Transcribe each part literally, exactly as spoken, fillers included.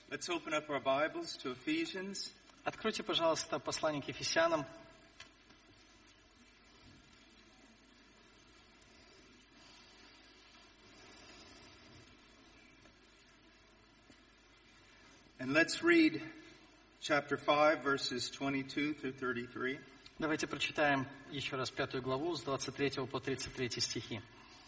Let's open up our Bibles to Ephesians. Откройте, пожалуйста, послание к Ефесянам. And let's read chapter five, verses twenty-two through thirty-three. Давайте прочитаем еще раз пятую главу с двадцать третьего по тридцать третий стихи.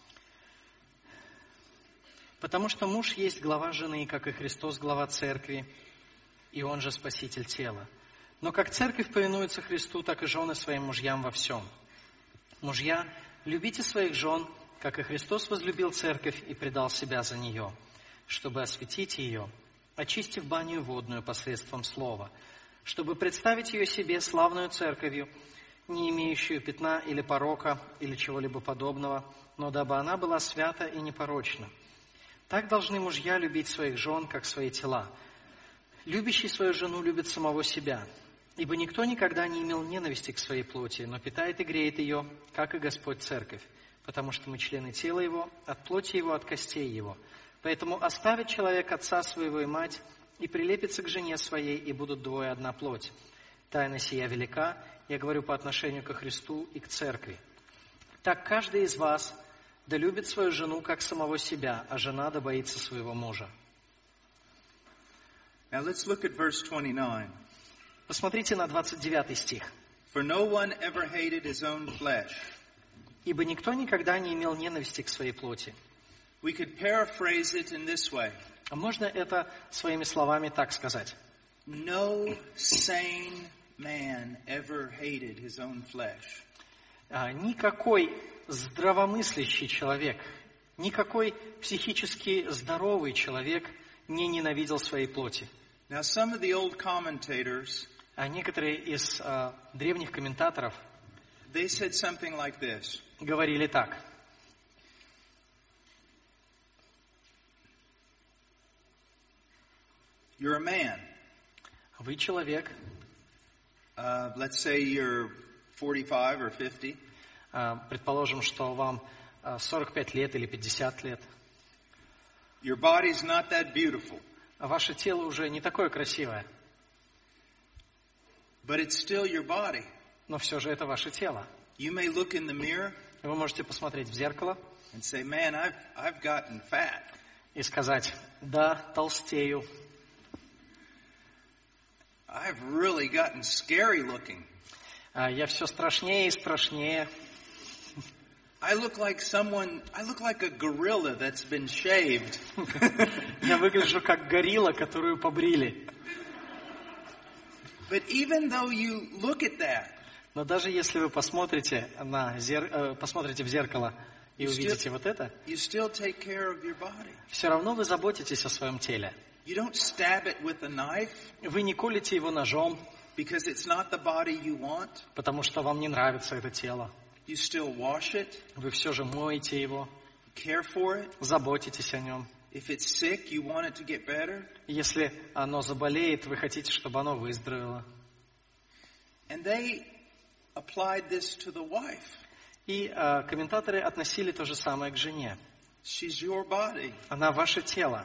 «Потому что муж есть глава жены, как и Христос глава церкви, и он же спаситель тела. Но как церковь повинуется Христу, так и жены своим мужьям во всем. Мужья, любите своих жен, как и Христос возлюбил церковь и предал себя за нее, чтобы осветить ее, очистив баню водную посредством слова, чтобы представить ее себе славную церковью, не имеющую пятна или порока, или чего-либо подобного, но дабы она была свята и непорочна. Так должны мужья любить своих жен, как свои тела. Любящий свою жену любит самого себя, ибо никто никогда не имел ненависти к своей плоти, но питает и греет ее, как и Господь церковь, потому что мы члены тела Его, от плоти Его, от костей Его. Поэтому оставит человек отца своего и мать, и прилепится к жене своей, и будут двое одна плоть. Тайна сия велика, я говорю по отношению ко Христу и к церкви. Так каждый из вас да любит свою жену, как самого себя, а жена да боится своего мужа». Now let's look at verse twenty-nine. Посмотрите на двадцать девятый стих. For no one ever hated his own flesh. «Ибо никто никогда не имел ненависти к своей плоти». We could paraphrase it in this way. А можно это своими словами так сказать? No sane man ever hated his own flesh. А, никакой здравомыслящий человек, никакой психически здоровый человек не ненавидел своей плоти. Now some of the old commentators, А некоторые из а, древних комментаторов they said something like this. говорили так. You're a man. Вы человек, Uh, let's say you're forty-five or fifty. а, предположим, что вам а, сорок пять лет или пятьдесят лет, Your body's not that beautiful, а ваше тело уже не такое красивое, but it's still your body. но все же это ваше тело. You may look in the mirror И вы можете посмотреть в зеркало and say, man, I've, I've gotten fat. и сказать: да, толстею, I've really gotten scary looking. а, я все страшнее и страшнее. I look like someone, I look like a gorilla that's been shaved. Я выгляжу как горилла, которую побрили. But even though you look at that, Но даже если вы посмотрите, на зер... э, посмотрите в зеркало и увидите вот это, you still take care of your body. все равно вы заботитесь о своем теле. You don't stab it with a knife Вы не колите его ножом, because it's not the body you want. потому что вам не нравится это тело. You still wash it, Вы все же моете его, care for it. заботитесь о нем. If it's sick, you want it to get better. Если оно заболеет, вы хотите, чтобы оно выздоровело. And they applied this to the wife. И э, комментаторы относили то же самое к жене. She's your body. Она ваше тело.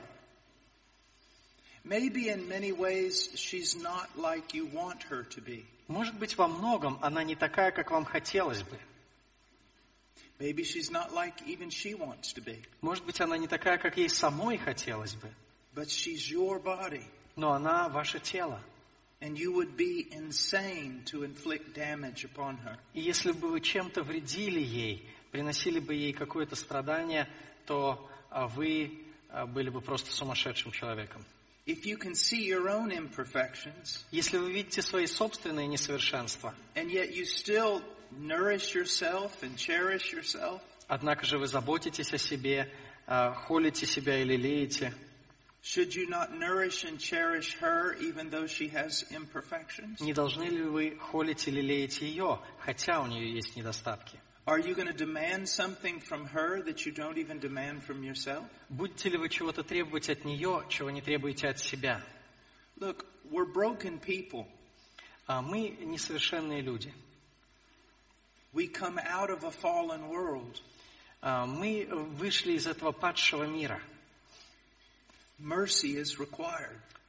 Maybe in many ways she's not like you want her to be. Может быть, во многом она не такая, как вам хотелось бы. Maybe she's not like even she wants to be. Может быть, она не такая, как ей самой хотелось бы. But she's your body. Но она ваше тело. And you would be insane to inflict damage upon her. И если бы вы чем-то вредили ей, приносили бы ей какое-то страдание, то а, вы а, были бы просто сумасшедшим человеком. If you can see your own imperfections, Если вы видите свои собственные несовершенства, and yet you still nourish yourself and cherish yourself, однако же вы заботитесь о себе, а, холите себя или лелеете, should you not nourish and cherish her even though she has imperfections? не должны ли вы холить или лелеять ее, хотя у нее есть недостатки? Are you going to demand something from her that you don't even demand from yourself? Будете ли вы чего-то требовать от нее, чего не требуете от себя? Look, we're broken people. А мы несовершенные люди. We come out of a fallen world. А мы вышли из этого падшего мира. Mercy is required.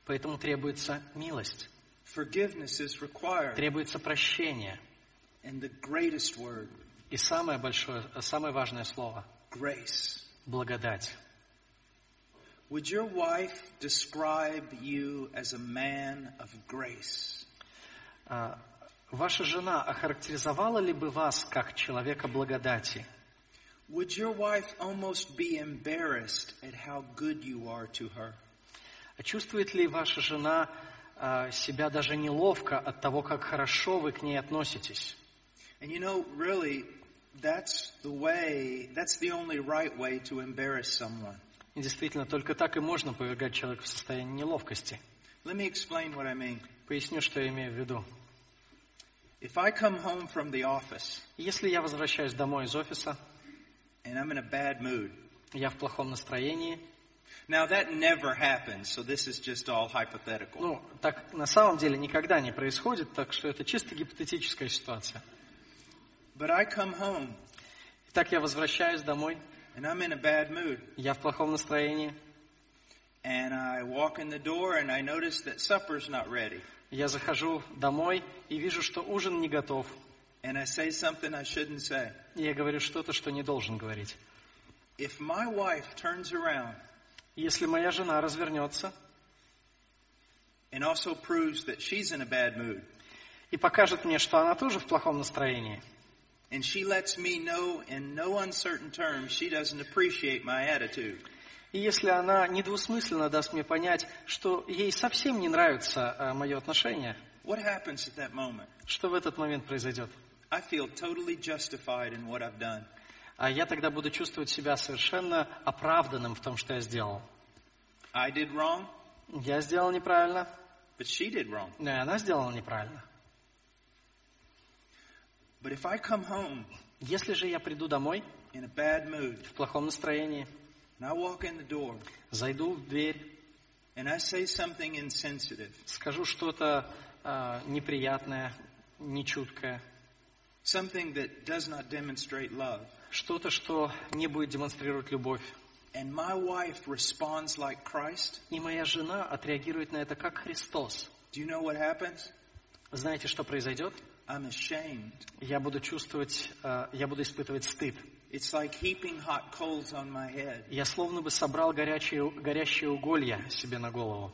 Поэтому требуется милость, Forgiveness is required. требуется прощение. And the greatest word, И самое большое, самое важное слово grace. – благодать. Would your wife describe you as a man of grace? А, Ваша жена охарактеризовала ли бы вас как человека благодати? Would your wife almost be embarrassed at how good you are to her? А чувствует ли ваша жена а, себя даже неловко от того, как хорошо вы к ней относитесь? And you know, really, that's the way, that's the only right way to embarrass someone. И действительно, только так и можно повергать человека в состояние неловкости. Let me explain what I mean. Поясню, что я имею в виду. If I come home from the office Если я возвращаюсь домой из офиса, and I'm in a bad mood, я в плохом настроении, now that never happens, so this is just all hypothetical. ну, так на самом деле никогда не происходит, так что это чисто гипотетическая ситуация. But I come home Итак, я возвращаюсь домой, and I'm in a bad mood, я в плохом настроении, and I walk in the door and I notice that supper's not ready, я захожу домой и вижу, что ужин не готов. and I say something I shouldn't say. И я говорю что-то, что не должен говорить. If my wife turns around Если моя жена развернется and also proves that she's in a bad mood, и покажет мне, что она тоже в плохом настроении, and she lets me know in no uncertain terms she doesn't appreciate my attitude, и если она недвусмысленно даст мне понять, что ей совсем не нравится а, мое отношение, what happens at that moment? что в этот момент произойдет? I feel totally justified in what I've done. А я тогда буду чувствовать себя совершенно оправданным в том, что я сделал. I did wrong, Я сделал неправильно, but she did wrong. но и она сделала неправильно. But if I come home Если же я приду домой in a bad mood, в плохом настроении, and I walk in the door, зайду в дверь, and I say something insensitive, скажу что-то а, неприятное, нечуткое, something that does not demonstrate love, что-то, что не будет демонстрировать любовь, and my wife responds like Christ, и моя жена отреагирует на это как Христос, do you know what happens? знаете, что произойдет? I'm ashamed. Я буду чувствовать, а, я буду испытывать стыд. It's like heaping hot coals on my head. Я словно бы собрал горячие, горящие уголья себе на голову.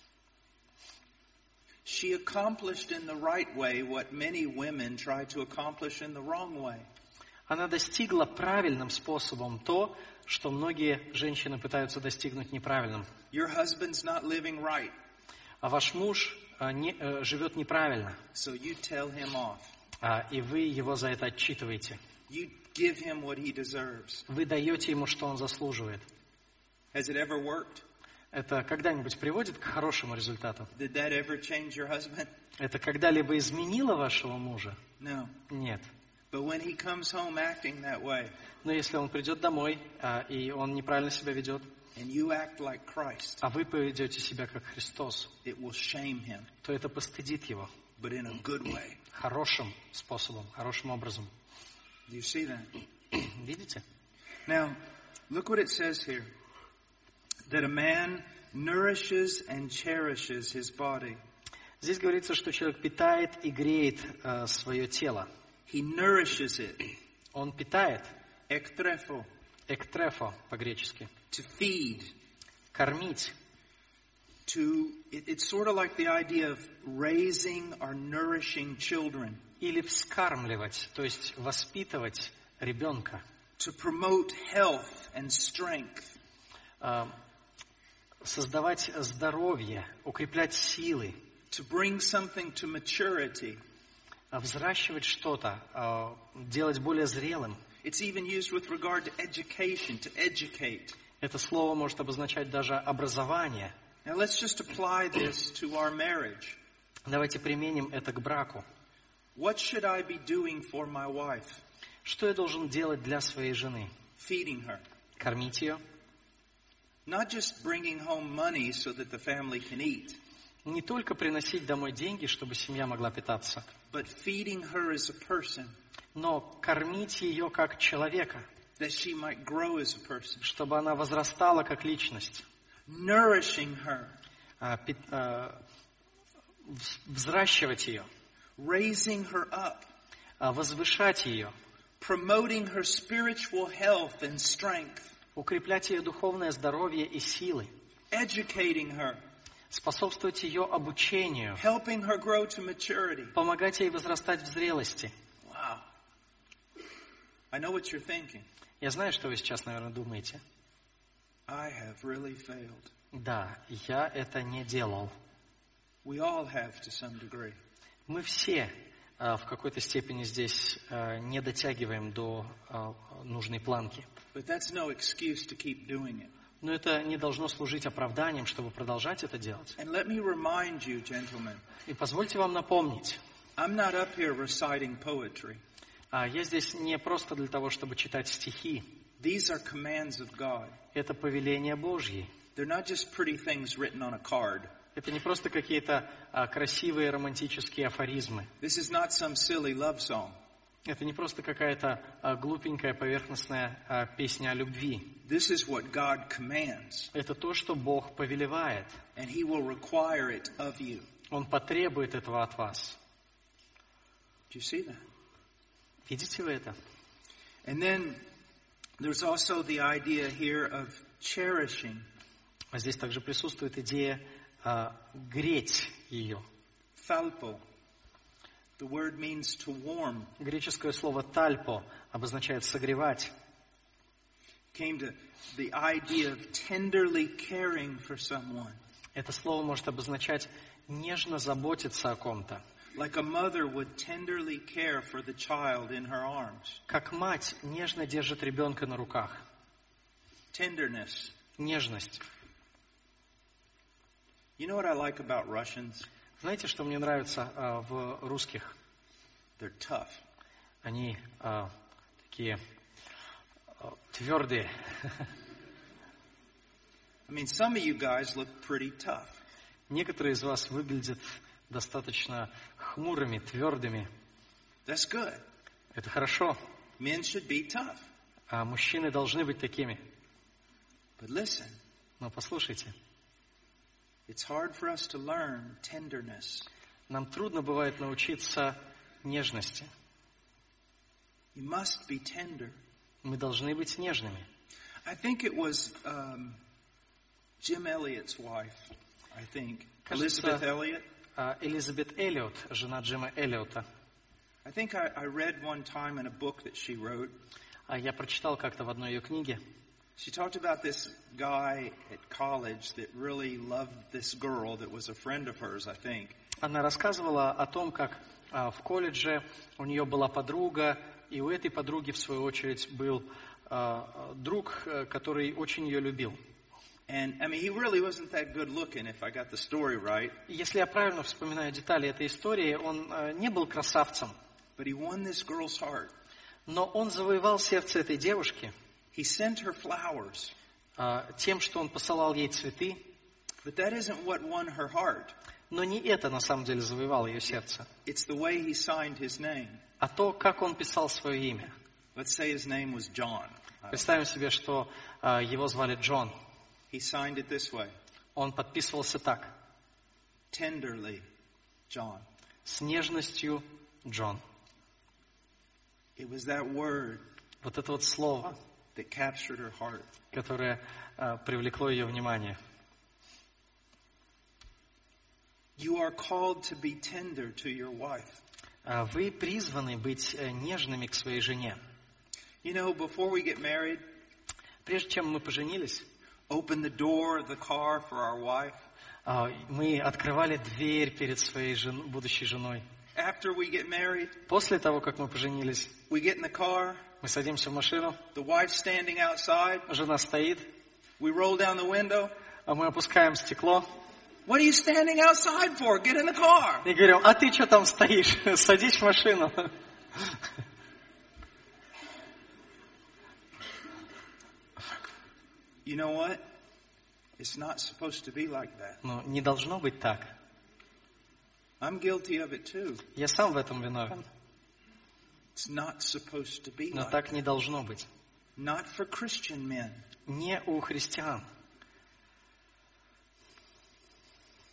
She accomplished in the right way what many women try to accomplish in the wrong way. Она достигла правильным способом то, что многие женщины пытаются достигнуть неправильным. Your husband's not living right, А ваш муж а, не, а, живет неправильно, so you tell him off. а, и вы его за это отчитываете. You give him what he deserves. Вы даете ему, что он заслуживает. Has it ever worked? Это когда-нибудь приводит к хорошему результату? Did that ever change your husband? Это когда-либо изменило вашего мужа? No. Нет. But when he comes home acting that way, Но если он придет домой, а, и он неправильно себя ведет, and you act like Christ, а вы поведете себя как Христос, it will shame him, то это постыдит его but in a good way. хорошим способом, хорошим образом. Do you see that? Видите? Now, look what it says here. That a man nourishes and cherishes his body. Здесь говорится, что человек питает и греет э, свое тело. He nourishes it. Он питает, Ektrefo, эктрефо по-гречески, to feed. кормить. To, it, it's sort of like the idea of raising or nourishing children. Или вскармливать, то есть воспитывать ребенка. To promote health and strength. Э, создавать здоровье, укреплять силы. To bring something to maturity. Взращивать что-то, э, делать более зрелым. It's even used with regard to education, to educate. Это слово может обозначать даже образование. Now let's just apply this to our marriage. Давайте применим это к браку. What should I be doing for my wife? Что я должен делать для своей жены? Feeding her. Кормить ее. Not just bringing home money so that the family can eat, Не только приносить домой деньги, чтобы семья могла питаться, but feeding her as a person, но кормить ее как человека, that she might grow as a person. чтобы она возрастала как личность, Nourishing her, а, пи- а, вз- взращивать ее, raising her up, а, возвышать ее, promoting her spiritual health and strength, укреплять ее духовное здоровье и силы, educating her, способствовать ее обучению, helping her grow to maturity. помогать ей возрастать в зрелости. Wow. I know what you're thinking. Я знаю, что вы сейчас, наверное, думаете. I have really failed. Да, я это не делал. We all have to some degree. Мы все а, в какой-то степени здесь а, не дотягиваем до а, нужной планки. But that's no excuse to keep doing it. Но это не должно служить оправданием, чтобы продолжать это делать. And let me remind you, gentlemen, И позвольте вам напомнить, I'm not up here reciting poetry. а, я здесь не просто для того, чтобы читать стихи. These are commands of God. Это повеления Божьи. They're not just pretty things written on a card. Это не просто какие-то а, красивые романтические афоризмы. This is not some silly love song. Это не просто какая-то а, глупенькая поверхностная а, песня о любви. This is what God commands, Это то, что Бог повелевает. and He will require it of you. Он потребует этого от вас. Do you see that? Видите вы это? And then there's also the idea here of cherishing. А здесь также присутствует идея а, греть ее. Thalpo. The word means to warm. Греческое слово «тальпо» обозначает «согревать». Came to the idea of tenderly caring for someone. Это слово может обозначать нежно заботиться о ком-то. Like a mother would tenderly care for the child in her arms. Как мать нежно держит ребенка на руках. Tenderness. Нежность. You know what I like about Russians? Знаете, что мне нравится а, в русских? They're tough. Они а, такие а, твердые. I mean, some of you guys look pretty tough. Некоторые из вас выглядят достаточно хмурыми, твердыми. That's good. Это хорошо. Men should be tough. А мужчины должны быть такими. But listen, Но послушайте, it's hard for us to learn tenderness. нам трудно бывает научиться нежности. You must be tender. Мы должны быть нежными. I think it was um, Jim Elliot's wife, I think. Кажется, Elizabeth Elliot. а, Элизабет Эллиот, жена Джима Эллиота. I think I, I read one time in a book that she wrote. А я прочитал как-то в одной ее книге. She talked about this guy at college that really loved this girl that was a friend of hers, I think. Она рассказывала о том, как а, в колледже у нее была подруга, и у этой подруги, в свою очередь, был а, друг, который очень ее любил. And, I mean, he really wasn't that good looking, if I got the story right. И если я правильно вспоминаю детали этой истории, он а, не был красавцем, But he won this girl's heart. но он завоевал сердце этой девушки He sent her flowers. а, тем, что он посылал ей цветы. But that isn't what won her heart. Но не это на самом деле завоевало ее сердце, It's the way he signed his name. а то, как он писал свое имя. Let's say his name was John. Представим себе, что а, его звали Джон. He signed it this way. Он подписывался так: Tenderly, John. с нежностью Джон. It was that word Вот это вот слово, that captured her heart. которое а, привлекло ее внимание. You are called to be tender to your wife. А, вы призваны быть э, нежными к своей жене. You know, before we get married, Прежде чем мы поженились, open the door of the car for our wife. а, мы открывали дверь перед своей жен- будущей женой. After we get married, После того, как мы поженились, we get in the car. мы садимся в машину, The wife's standing outside. жена стоит, We roll down the window. а мы опускаем стекло What are you standing outside for? Get in the car. и говорим: а ты что там стоишь? Садись в машину. You know what? It's not supposed to be like that. Но не должно быть так. I'm guilty of it too. Я сам в этом виновен. It's not supposed to be Но like that. так не должно быть. Not for Christian men. Не у христиан.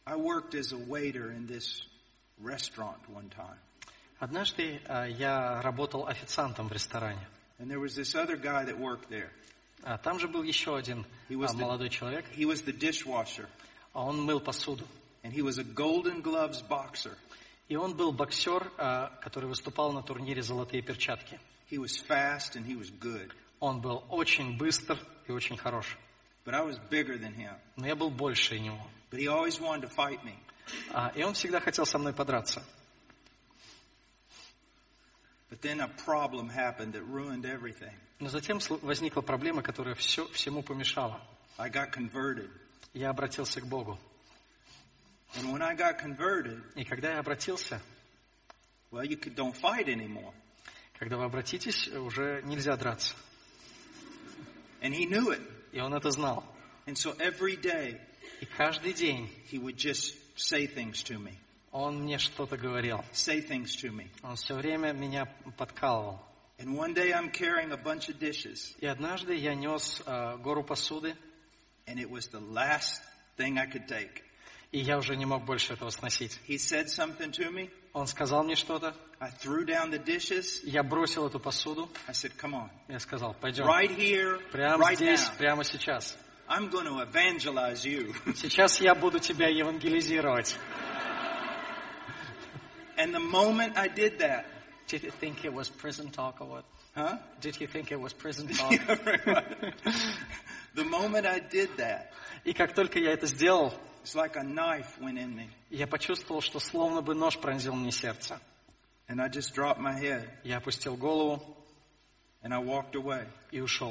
I worked as a waiter in this restaurant one time. Однажды э, я работал официантом в ресторане. And there was this other guy that worked there. А там же был еще один He was а, the- молодой человек, He was the dishwasher. а он мыл посуду. And he was a Golden Gloves boxer. И он был боксер, а, который выступал на турнире «Золотые перчатки». He was fast and he was good. Он был очень быстр и очень хорош. But I was bigger than him. Но я был больше него. But he always wanted to fight me. А, и он всегда хотел со мной подраться. But then a problem happened that ruined everything. Но затем слу- возникла проблема, которая все, всему помешала. I got converted. Я обратился к Богу. And when I got converted, И когда я обратился, well, you could, don't fight anymore. когда вы обратитесь, уже нельзя драться. And he knew it. И он это знал. And so every day, И каждый день he would just say things to me. он мне что-то говорил. Say things to me. Он все время меня подкалывал. And one day I'm carrying a bunch of dishes. И однажды я нес э, гору посуды, And it was the last thing I could take. и я уже не мог больше этого сносить. He said something to me. Он сказал мне что-то, I threw down the dishes. я бросил эту посуду, I said, come on. я сказал, пойдем, Right here, прямо right здесь, now. прямо сейчас. I'm going to evangelize you. Сейчас я буду тебя евангелизировать. And the moment I did that, Did you think it was prison talk or what? huh? Did you think it was prison talk? The moment I did that, И как только я это сделал, it's like a knife went in me. я почувствовал, что словно бы нож пронзил мне сердце. And I just dropped my head Я опустил голову and I walked away. и ушел.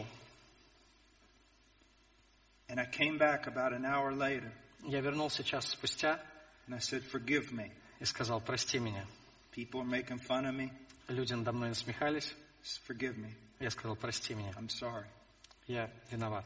And I came back about an hour later Я вернулся час спустя and I said, forgive me. и сказал, прости меня. People are making fun of me. Люди надо мной насмехались. Just forgive me. Я сказал, прости меня. I'm sorry. Я виноват.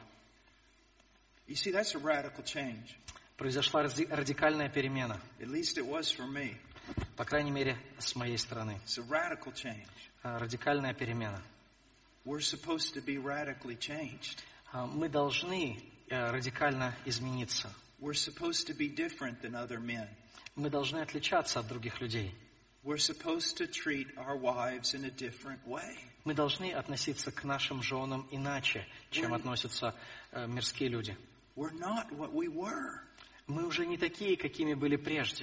You see, that's a radical change. Произошла ради- радикальная перемена. At least it was for me. По крайней мере, с моей стороны. It's a radical change. А, Радикальная перемена. We're supposed to be radically changed. А, Мы должны э, радикально измениться. We're supposed to be different than other men. Мы должны отличаться от других людей. We're supposed to treat our wives in a different way. Мы должны относиться к нашим женам иначе, чем относятся э, мирские люди. We're not what we were. Мы уже не такие, какими были прежде.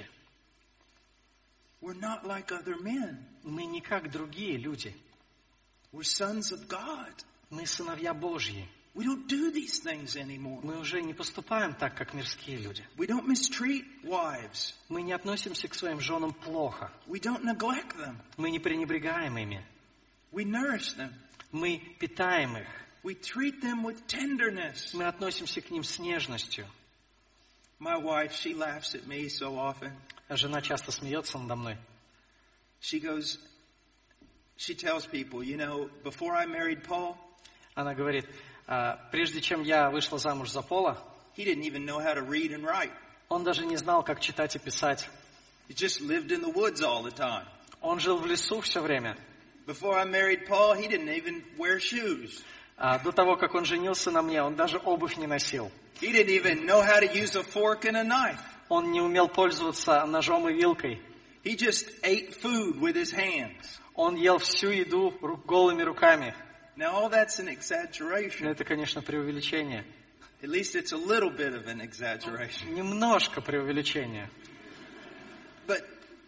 We're not like other men. Мы не как другие люди. We're sons of God. Мы сыновья Божьи. We don't do these things anymore. Мы уже не поступаем так, как мирские люди. We don't mistreat wives. Мы не относимся к своим женам плохо. We don't neglect them. Мы не пренебрегаем ими. We nourish them. Мы питаем их. We treat them with tenderness. Мы относимся к ним с нежностью. My wife, she laughs at me so often. А жена часто смеется надо мной. She goes, she tells people, you know, before I married Paul, Она говорит, «А, прежде чем я вышла замуж за Пола, he didn't even know how to read and write. он даже не знал, как читать и писать. He just lived in the woods all the time. Он жил в лесу все время. Before I married Paul, he didn't even wear shoes. А до того, как он женился на мне, он даже обувь не носил. He didn't even know how to use a fork and a knife. Он не умел пользоваться ножом и вилкой. He just ate food with his hands. Он ел всю еду ру- голыми руками. Now, all that's an Но exaggeration. это, конечно, преувеличение. At least it's a little bit of an exaggeration. Немножко преувеличение. But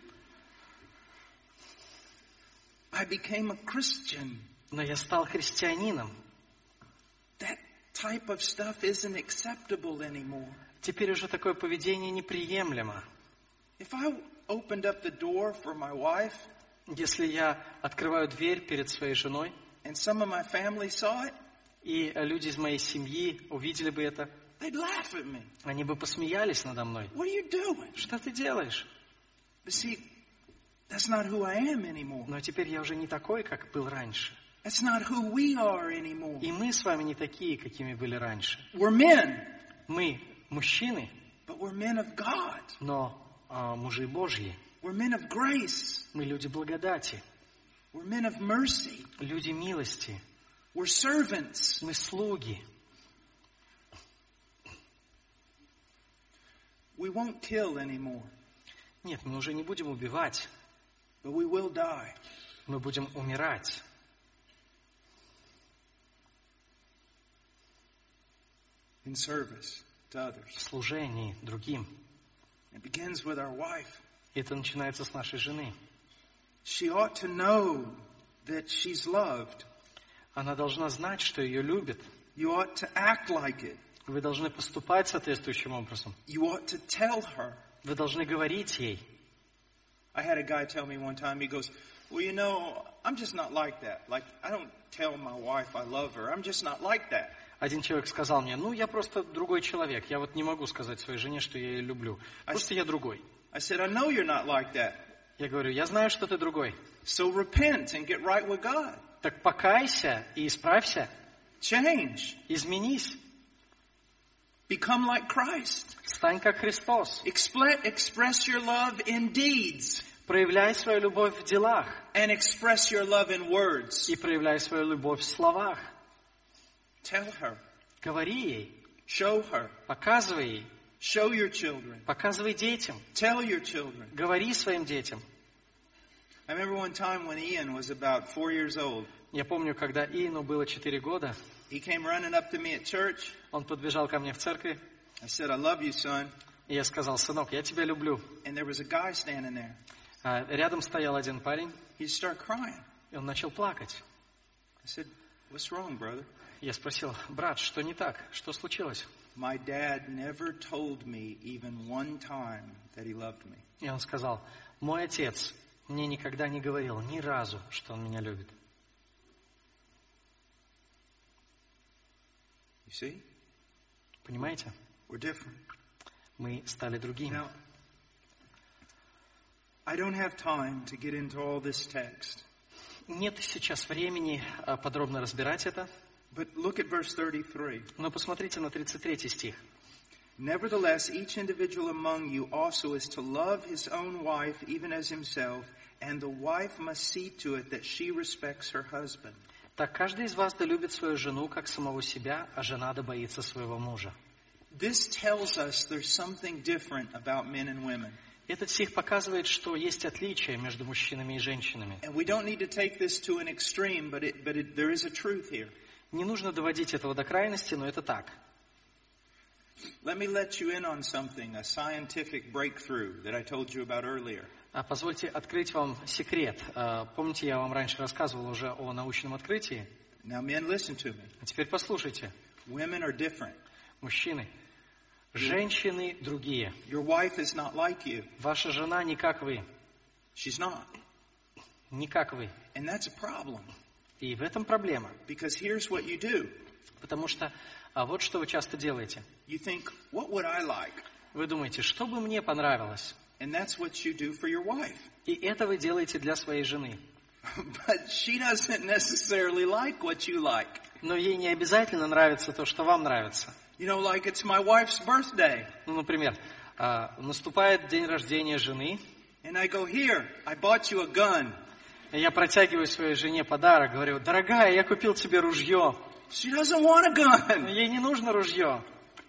I became a Christian. Но я стал христианином. That type of stuff isn't acceptable anymore. Теперь уже такое поведение неприемлемо. If I opened up the door for my wife Если я открываю дверь перед своей женой, and some of my family saw it, и люди из моей семьи увидели бы это, they'd laugh at me. они бы посмеялись надо мной. What are you doing? Что ты делаешь? But see, that's not who I am anymore. Но теперь я уже не такой, как был раньше. That's not who we are anymore. И мы с вами не такие, какими были раньше. We're men, Мы мужчины, but we're men of God. но а, мужи Божьи. We're men of grace. Мы люди благодати, We're men of mercy. люди милости. We're servants. Мы слуги. We won't kill anymore, Нет, мы уже не будем убивать, but we will die. мы будем умирать. In service to others. В служении другим. It begins with our wife. Это начинается с нашей жены. She ought to know that she's loved. Она должна знать, что ее любят. You ought to act like it. Вы должны поступать соответствующим образом. You ought to tell her. Вы должны говорить ей. I had a guy tell me one time, he goes, well, you know, I'm just not like that. Like, I don't tell my wife I love her. I'm just not like that. Один человек сказал мне, ну, я просто другой человек. Я вот не могу сказать своей жене, что я ее люблю. Просто я другой. I said, I know you're not like that. Я говорю, я знаю, что ты другой. So repent and get right with God. Так покайся и исправься. Change. Изменись. Become like Christ. Стань как Христос. Expl- express your love in deeds. Проявляй свою любовь в делах. And express your love in words. И проявляй свою любовь в словах. Tell her. Говори ей. Show her. Показывай ей. Show your children. Показывай детям. Tell your children. Говори своим детям. I remember one time when Ian was about four years old. Я помню, когда Иену было четыре года, He came running up to me at church. он подбежал ко мне в церкви, I said, I love you, son. и я сказал, сынок, я тебя люблю. And there was a guy standing there. А рядом стоял один парень, He started crying. и он начал плакать. I said, what's wrong, brother? Я спросил, брат, что не так? Что случилось? My dad never told me even one time that he loved me. И он сказал, мой отец мне никогда не говорил ни разу, что он меня любит. You see? Понимаете? We're different. Мы стали другими. Now, I don't have time to get into all this text. Нет сейчас времени а, подробно разбирать это, But look at verse thirty-three. но посмотрите на тридцать третий стих. Nevertheless, each individual among you also is to love his own wife even as himself, and the wife must see to it that she respects her husband. Так каждый из вас да любит свою жену, как самого себя, а жена да боится своего мужа. This tells us there's something different about men and women. Этот стих показывает, что есть отличия между мужчинами и женщинами. And we don't need to take this to an extreme, but it, but it, there is a truth here. Не нужно доводить этого до крайности, но это так. Let me let you in on something, a scientific breakthrough that I told you about earlier. А позвольте открыть вам секрет. А, помните, я вам раньше рассказывал уже о научном открытии? Now, men, listen to me. А теперь послушайте. Women are different. Мужчины, женщины другие. Your wife is not like you. Ваша жена не как вы. She's not. Не как вы. And that's a problem. И в этом проблема. Because here's what you do. Потому что а вот что вы часто делаете. You think, what would I like? Вы думаете, что бы мне понравилось? And that's what you do for your wife. И это вы делаете для своей жены. But she doesn't necessarily like what you like. Но ей не обязательно нравится то, что вам нравится. You know, like it's my wife's birthday. Ну, например, а, наступает день рождения жены, And I go, here, I bought you a gun. и я протягиваю своей жене подарок, говорю, дорогая, я купил тебе ружье. She doesn't want a gun. Ей не нужно ружье.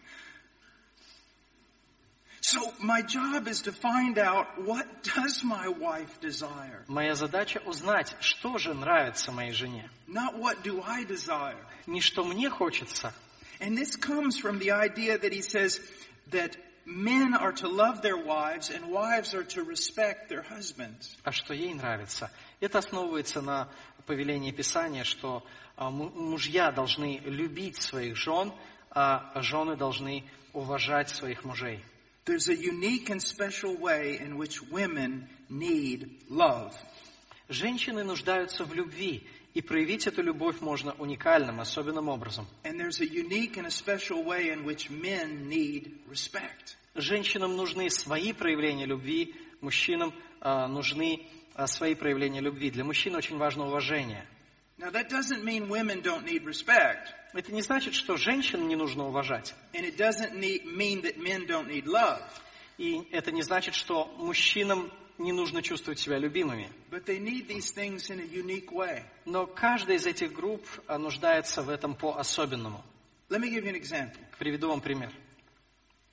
So my job is to find out, what does my wife desire? Моя задача узнать, что же нравится моей жене. Not what do I desire. Не что мне хочется. And this comes from the idea that he says that men are to love their wives and wives are to respect their husbands. А что ей нравится. Это основывается на повелении Писания, что а, му- мужья должны любить своих жен, а жены должны уважать своих мужей. There's a unique and special way in which women need love. Женщины нуждаются в любви, и проявить эту любовь можно уникальным, особенным образом. And there's a unique and a special way in which men need respect. Женщинам нужны свои проявления любви, мужчинам а, нужны а, свои проявления любви. Для мужчин очень важно уважение. Now that doesn't mean women don't need respect. Это не значит, что женщин не нужно уважать. And it doesn't need, mean that men don't need love. И это не значит, что мужчинам не нужно чувствовать себя любимыми. But they need these things in a unique way. Но каждая из этих групп а, нуждается в этом по-особенному. Let me give you an example. Приведу вам пример.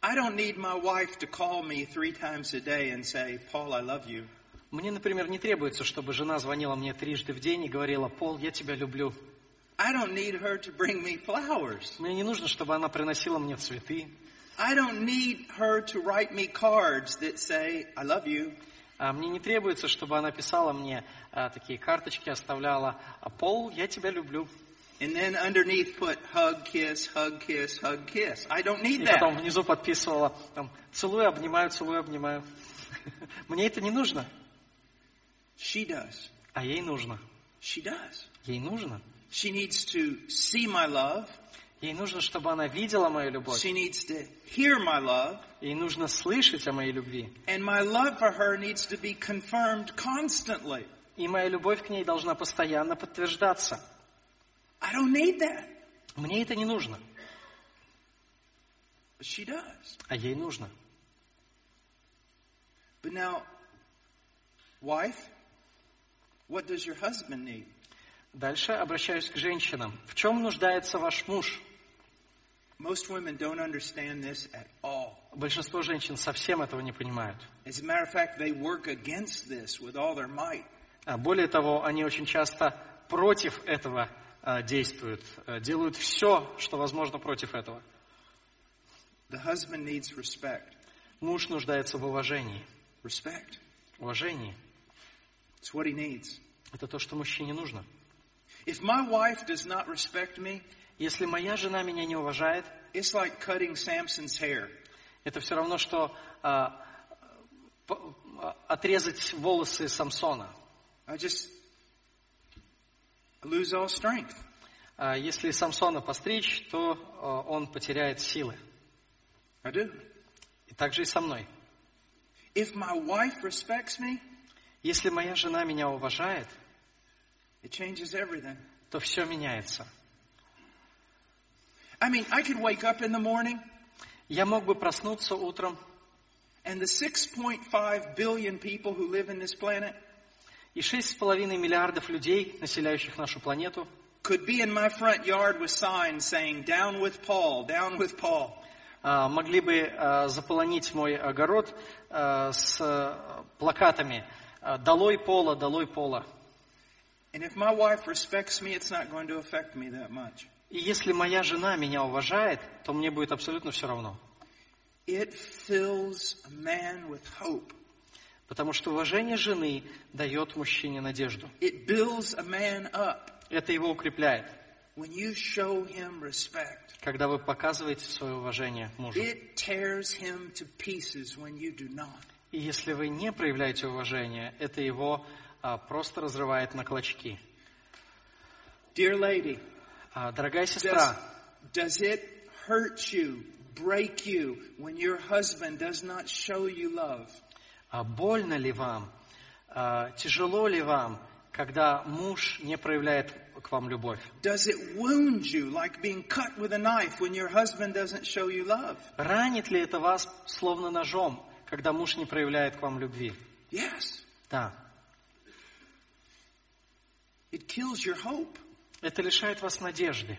I don't need my wife to call me three times a day and say, Paul, I love you. Мне, например, не требуется, чтобы жена звонила мне трижды в день и говорила: Пол, я тебя люблю. I don't need her to bring me flowers. Мне не нужно, чтобы она приносила мне цветы. I don't need her to write me cards that say, I love you. А мне не требуется, чтобы она писала мне а, такие карточки, оставляла: а Пол, я тебя люблю. And then underneath put hug, kiss, hug, kiss, hug, kiss. I don't need И that. потом внизу подписывала: там, целую, обнимаю, целую, обнимаю. Мне это не нужно. She does. А ей нужно. She does. Ей нужно. She needs to see my love. Ей нужно, чтобы она видела мою любовь. She needs to hear my love. Ей нужно слышать о моей любви. And my love for her needs to be confirmed constantly. И моя любовь к ней должна постоянно подтверждаться. I don't need that. Мне это не нужно. But she does. А ей нужно. But now, wife, what does your husband need? Дальше обращаюсь к женщинам. В чем нуждается ваш муж? Most women don't understand this at all. Большинство женщин совсем этого не понимают. As a matter of fact, they work against this with all their might. А более того, они очень часто против этого а, действуют, а, делают все, что возможно против этого. The husband needs respect. Муж нуждается в уважении. Respect. Уважении. It's what he needs. Это то, что мужчине нужно. If my wife does not respect me, Если моя жена меня не уважает, it's like cutting Samson's hair. это все равно, что а, по- а, отрезать волосы Самсона. I just lose all strength. А если Самсона постричь, то а, он потеряет силы. I do. И так же и со мной. If my wife respects me, Если моя жена меня уважает, it changes everything. то все меняется. I mean, I could wake up in the morning Я мог бы проснуться утром, and the six point five billion people who live in this planet и шесть с половиной миллиардов людей, населяющих нашу планету, could be in my front yard with signs saying, down with Paul, down with Paul. а, могли бы а, заполонить мой огород а, с а, плакатами а, «Долой Пола, долой Пола». And if my wife respects me, it's not going to affect me that much. И если моя жена меня уважает, то мне будет абсолютно все равно. It fills a man with hope. Потому что уважение жены дает мужчине надежду. It builds a man up Это его укрепляет. when you show him respect. Когда вы показываете свое уважение мужу. It tears him to pieces when you do not. И если вы не проявляете уважение, это его а, просто разрывает на клочки. Dear lady, А, дорогая does, сестра, does it hurt you, break you, when your husband does not show you love? а больно ли вам, а, тяжело ли вам, когда муж не проявляет к вам любовь? Does it wound you like being cut with a knife when your husband doesn't show you love? Ранит ли это вас словно ножом, когда муж не проявляет к вам любви? Yes. Да. It kills your hope. Это лишает вас надежды.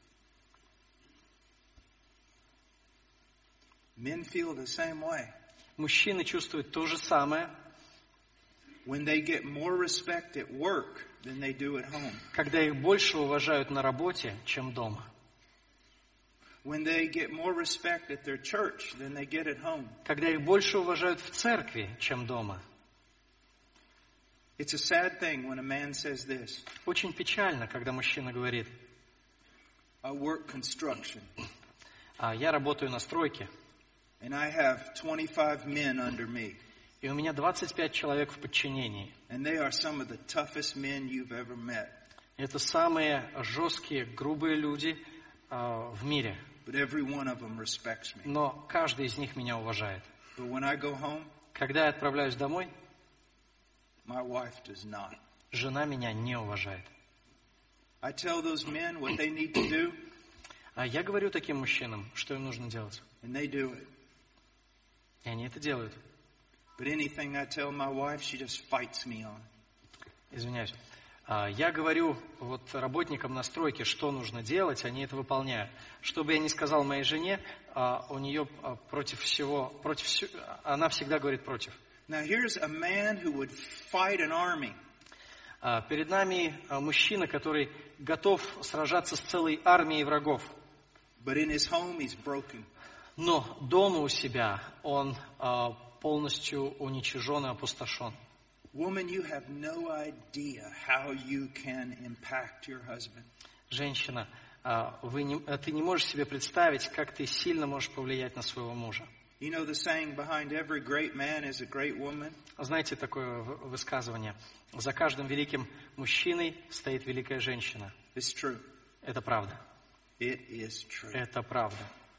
Men feel the same way. Мужчины чувствуют то же самое, When they get more respect at work than they do at home. когда их больше уважают на работе, чем дома. When they get more respect at their church than they get at home. Когда их больше уважают в церкви, чем дома. It's a sad thing when a man says this. Очень печально, когда мужчина говорит: I work construction а я работаю на стройке, and I have twenty-five men under me. и у меня двадцать пять человек в подчинении. And they are some of the toughest men you've ever met. Это самые жесткие, грубые люди а, в мире. But every one of them respects me. Но каждый из них меня уважает. But when I go home, Когда я отправляюсь домой, my wife does not. жена меня не уважает. I tell those men what they need to do, А я говорю таким мужчинам, что им нужно делать. and they do it. И они это делают. But anything I tell my wife, she just fights me on. Извиняюсь. А, Я говорю вот работникам на стройке, что нужно делать, они это выполняют. Что бы я ни сказал моей жене, а, у нее а, против всего, против всего, она всегда говорит против. Now here's a man who would fight an army. А, Перед нами а, мужчина, который готов сражаться с целой армией врагов. But in his home, he's broken. Но дома у себя он а, полностью уничижен и опустошен. Woman, you have no idea how you can impact your husband. Женщина, а, вы не, а, ты не можешь себе представить, как ты сильно можешь повлиять на своего мужа. You know the saying, behind every great man is a great woman? Знаете такое в- высказывание? За каждым великим мужчиной стоит великая женщина. It's true. Это правда. It is true. Это правда.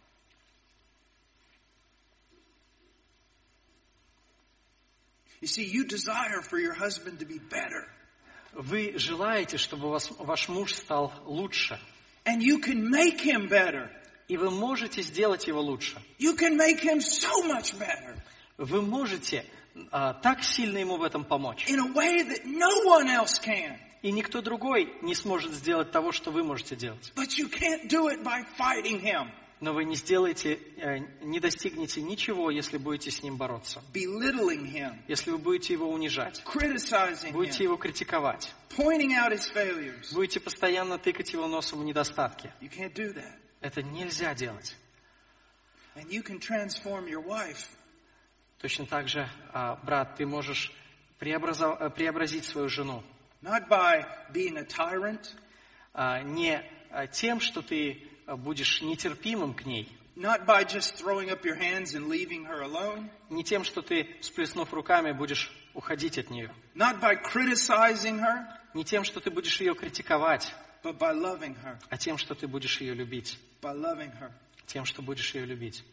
You see, you desire for your husband to be better. Вы желаете, чтобы вас, ваш муж стал лучше. And you can make him better. И вы можете сделать его лучше. You can make him so much better. Вы можете а, так сильно ему в этом помочь. In a way that no one else can. И никто другой не сможет сделать того, что вы можете делать. But you can't do it by fighting him, Но вы не сделаете, э, не достигнете ничего, если будете с ним бороться. belittling him, Если вы будете его унижать, criticizing будете him, его критиковать, pointing out his failures. будете постоянно тыкать его носом в недостатки. You can't do that. Это нельзя делать. And you can transform your wife Точно так же, а, брат, ты можешь преобразов- э, преобразить свою жену. not by being a tyrant, А, Не а, тем, что ты а, будешь нетерпимым к ней, not by just throwing up your hands and leaving her alone, не тем, что ты, всплеснув руками, будешь уходить от нее, not by criticizing her, не тем, что ты будешь ее критиковать, but by loving her, а тем, что ты будешь ее любить, by loving her. тем, что будешь ее любить.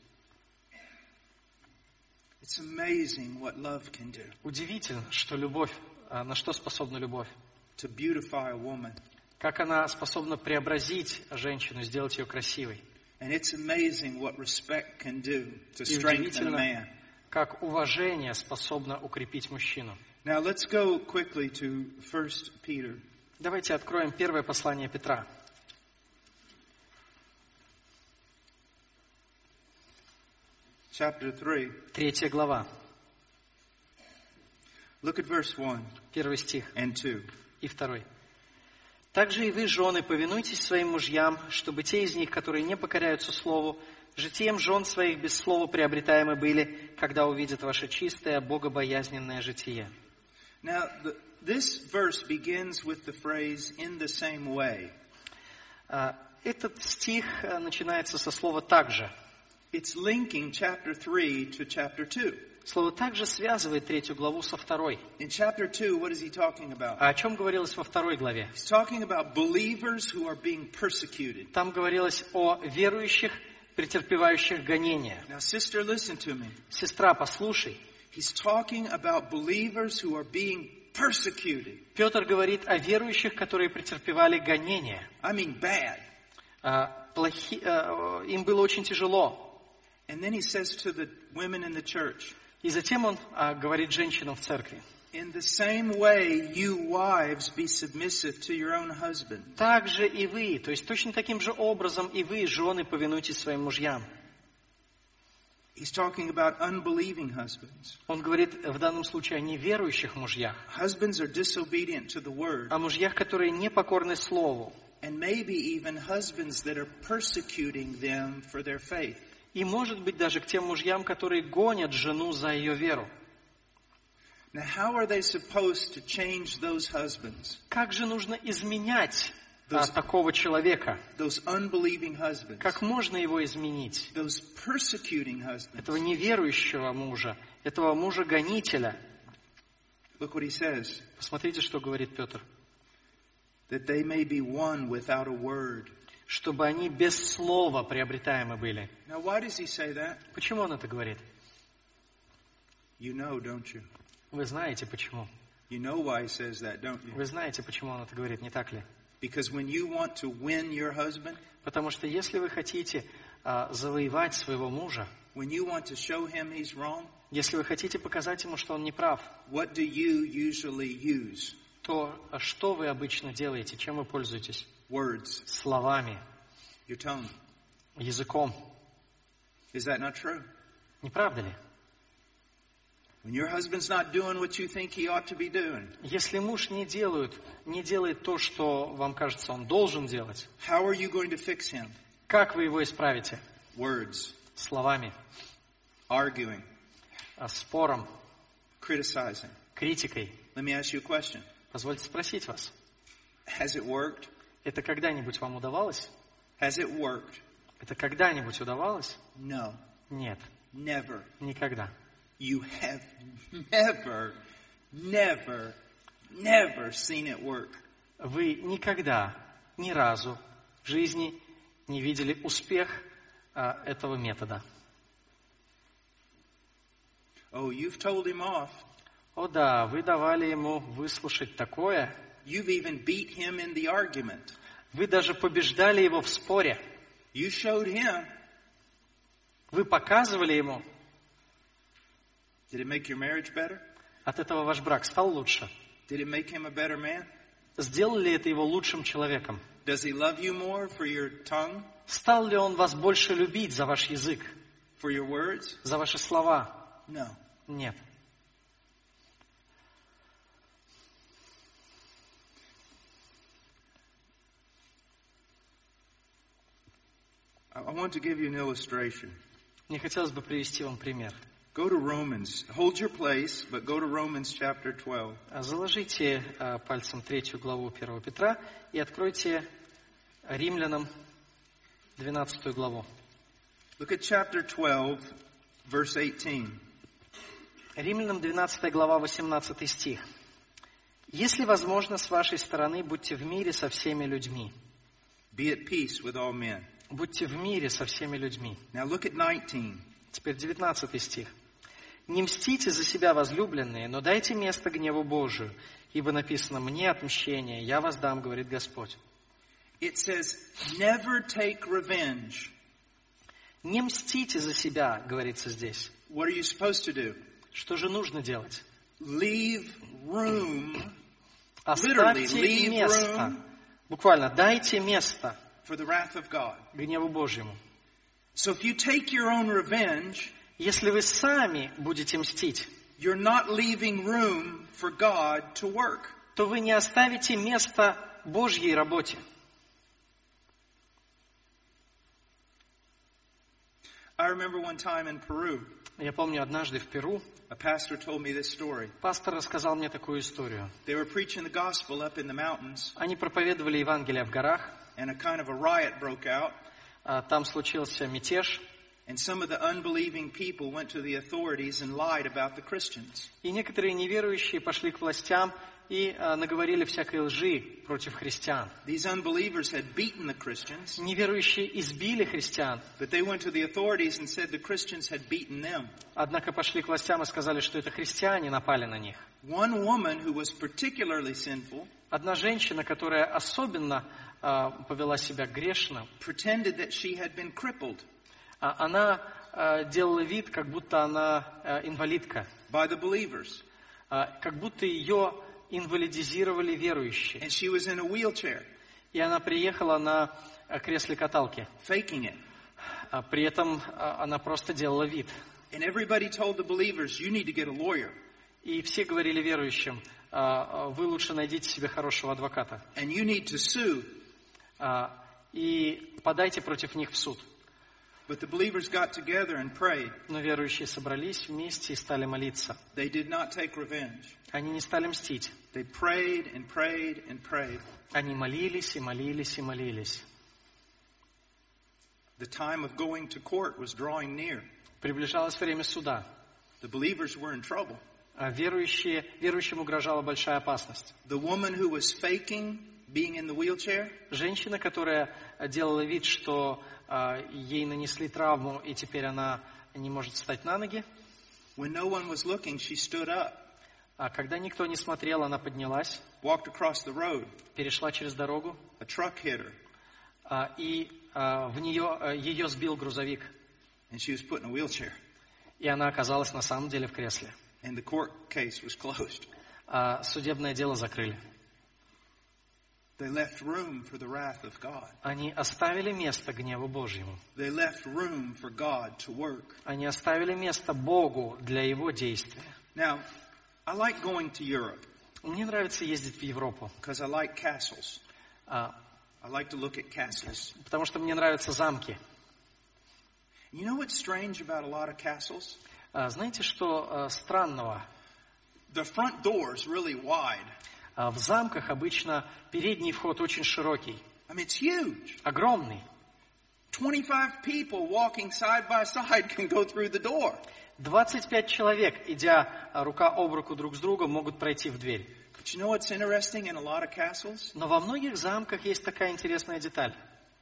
It's amazing what love can do Удивительно, что любовь, а, на что способна любовь, to beautify a woman. как она способна преобразить женщину, сделать ее красивой. And it's amazing what respect can do to И strengthen a удивительно, man. как уважение способно укрепить мужчину. Now let's go quickly to First Peter. Давайте откроем первое послание Петра. Chapter three. Третья глава, Look at verse one первый стих and two. и второй. «Также и вы, жены, повинуйтесь своим мужьям, чтобы те из них, которые не покоряются слову, житием жен своих без слова приобретаемы были, когда увидят ваше чистое, богобоязненное житие». Now, the, this verse begins with the phrase "in the same way." А, Этот стих а, начинается со слова «также». It's linking chapter three to chapter two. Слово «также» связывает третью главу со второй. In chapter two, what is he talking about? А о чем говорилось во второй главе? He's talking about believers who are being persecuted. Там говорилось о верующих, претерпевающих гонения. Now, sister, listen to me. Сестра, послушай. He's talking about believers who are being persecuted. Петр говорит о верующих, которые претерпевали гонения. I mean bad. А, плохи- а, им было очень тяжело. And then he says to the women in the church, И затем он а, говорит женщинам в церкви. "In the same way, you wives be submissive to your own husband." Так же и вы, то есть точно таким же образом и вы, жены, повинуйтесь своим мужьям. He's talking about unbelieving husbands. Он говорит в данном случае о неверующих мужьях, Husbands are disobedient to the word. о мужьях, которые не покорны слову. And maybe even husbands that are persecuting them for their faith. И, может быть, даже к тем мужьям, которые гонят жену за ее веру. Now, how are they supposed to change those husbands, Как же нужно изменять а, Those- такого человека? those unbelieving husbands, Как можно его изменить? those persecuting husbands? Этого неверующего мужа, этого мужа-гонителя. Look what he says, Посмотрите, что говорит Петр. that they may be won without a word. Чтобы они без слова приобретаемы были. Now, why does he say that? Почему он это говорит? You know, don't you? Вы знаете, почему. You know why he says that, don't you? Вы знаете, почему он это говорит, не так ли? Because when you want to win your husband, Потому что если вы хотите а, завоевать своего мужа, when you want to show him he's wrong, если вы хотите показать ему, что он не прав, what do you usually use? то что вы обычно делаете, чем вы пользуетесь? Words. Словами, Your tongue. языком. Is that not true? Не правда ли? When your husband's not doing what you think he ought to be doing, Если муж не делает, не делает то, что вам кажется, он должен делать, how are you going to fix him? как вы его исправите? Words. Словами, Arguing. а, спором, Criticizing. критикой. Let me ask you a question. Позвольте спросить вас, Has it worked? это когда-нибудь вам удавалось? Has it worked? Это когда-нибудь удавалось? No. Нет, Never. никогда. You have never, never, never seen it work. Вы никогда, ни разу в жизни не видели успех а, этого метода. Oh, you've told him off. О да, вы давали ему выслушать такое. You've even beat him in the argument. Вы даже побеждали его в споре. You showed him. Вы показывали ему. Did it make your marriage better? От этого ваш брак стал лучше. Did it make him a better man? Сделали ли это его лучшим человеком? Does he love you more for your tongue, Стал ли он вас больше любить за ваш язык, for your words? за ваши слова? No. Нет. I I want to give you an illustration. Мне хотелось бы привести вам пример. Go to Romans. Hold your place, but go to Romans chapter twelve. Заложите а, пальцем третью главу первого Петра и откройте Римлянам двенадцатую главу. Look at chapter twelve, verse eighteen. Римлянам двенадцатая глава, восемнадцатый стих. «Если возможно, с вашей стороны, будьте в мире со всеми людьми». Be at peace with all men. Будьте в мире со всеми людьми. Now look at nineteen. Теперь девятнадцатый стих. «Не мстите за себя, возлюбленные, но дайте место гневу Божию, ибо написано: мне отмщение, я воздам, говорит Господь». It says, never take revenge. Не мстите за себя, говорится здесь. What are you supposed to do? Что же нужно делать? Leave room, literally, Оставьте leave место. room Буквально, дайте место for the wrath of God. гневу Божьему. So if you take your own revenge, Если вы сами будете мстить, you're not leaving room for God to work. то вы не оставите места Божьей работе. I remember one time in Peru, Я помню, однажды в Перу a pastor told me this story. пастор рассказал мне такую историю. They were preaching the gospel up in the mountains, Они проповедовали Евангелие в горах, and a kind of a riot broke out, а там случился мятеж, and some of the unbelieving people went to the authorities and lied about the Christians. и некоторые неверующие пошли к властям и а, наговорили всякой лжи против христиан. These unbelievers had beaten the Christians, Неверующие избили христиан, but they went to the authorities and said the Christians had beaten them. однако пошли к властям и сказали, что это христиане напали на них. One woman who was particularly sinful Одна женщина, которая особенно а, повела себя грешно, pretended that she had been crippled а, она а, делала вид, как будто она а, инвалидка, by the believers, а, как будто ее инвалидизировали верующие. and she was in a wheelchair, И она приехала на а, кресле-каталке. faking it. А, при этом а, она просто делала вид. And everybody told the believers, you need to get a lawyer, И все говорили верующим: а, а, вы лучше найдите себе хорошего адвоката and you need to sue. а, и подайте против них в суд. But the believers got together and prayed. Но верующие собрались вместе и стали молиться. They did not take revenge. Они не стали мстить. They prayed and prayed and prayed. Они молились и молились и молились. The time of going to court was drawing near. Приближалось время суда. The believers were in trouble. А верующие, верующим угрожала большая опасность. The woman who was faking being in the wheelchair, Женщина, которая делала вид, что а, ей нанесли травму, и теперь она не может встать на ноги, when no one was looking, she stood up, а когда никто не смотрел, она поднялась, walked across the road. перешла через дорогу, A truck hit her, а, и а, в нее, а, ее сбил грузовик, and she was put in a wheelchair. и она оказалась на самом деле в кресле. And the court case was closed. а судебное дело закрыли. They left room for the wrath of God. Они оставили место гневу Божьему. They left room for God to work. Они оставили место Богу для Его действия. Now, I like going to Europe Мне нравится ездить в Европу, because I like castles. а, I like to look at castles. потому что мне нравятся замки. You know what's strange about a lot of castles? А, знаете, что а, странного? The front door's really wide. А, в замках обычно передний вход очень широкий, I mean, it's huge. огромный. twenty-five people walking side by side can go through the door. двадцать пять человек, идя а, рука об руку друг с другом, могут пройти в дверь. But you know what's interesting in a lot of castles? Но во многих замках есть такая интересная деталь.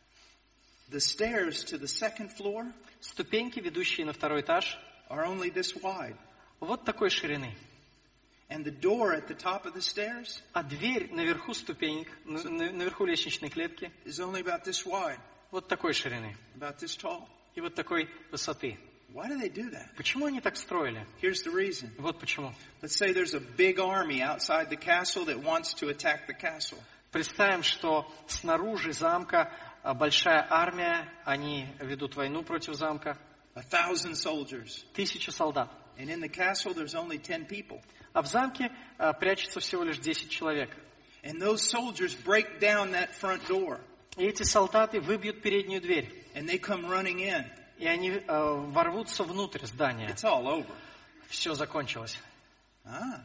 The stairs to the second floor Ступеньки, ведущие на второй этаж, are only this wide. вот такой ширины. And the door at the top of the stairs А дверь наверху ступенек, на- на- наверху лестничной клетки, is only about this wide, вот такой ширины about this tall. и вот такой высоты. Why do they do that? Почему они так строили? Here's the reason. Вот почему. Let's say there's a big army outside the castle that wants to attack the castle. Представим, что снаружи замка а, большая армия, они ведут войну против замка, A thousand soldiers. тысяча солдат. And in the castle there's only ten people. А в замке а, прячется всего лишь десять человек. And those soldiers break down that front door. И эти солдаты выбьют переднюю дверь. And they come running in. И они а, ворвутся внутрь здания. It's all over. Все закончилось. Ah.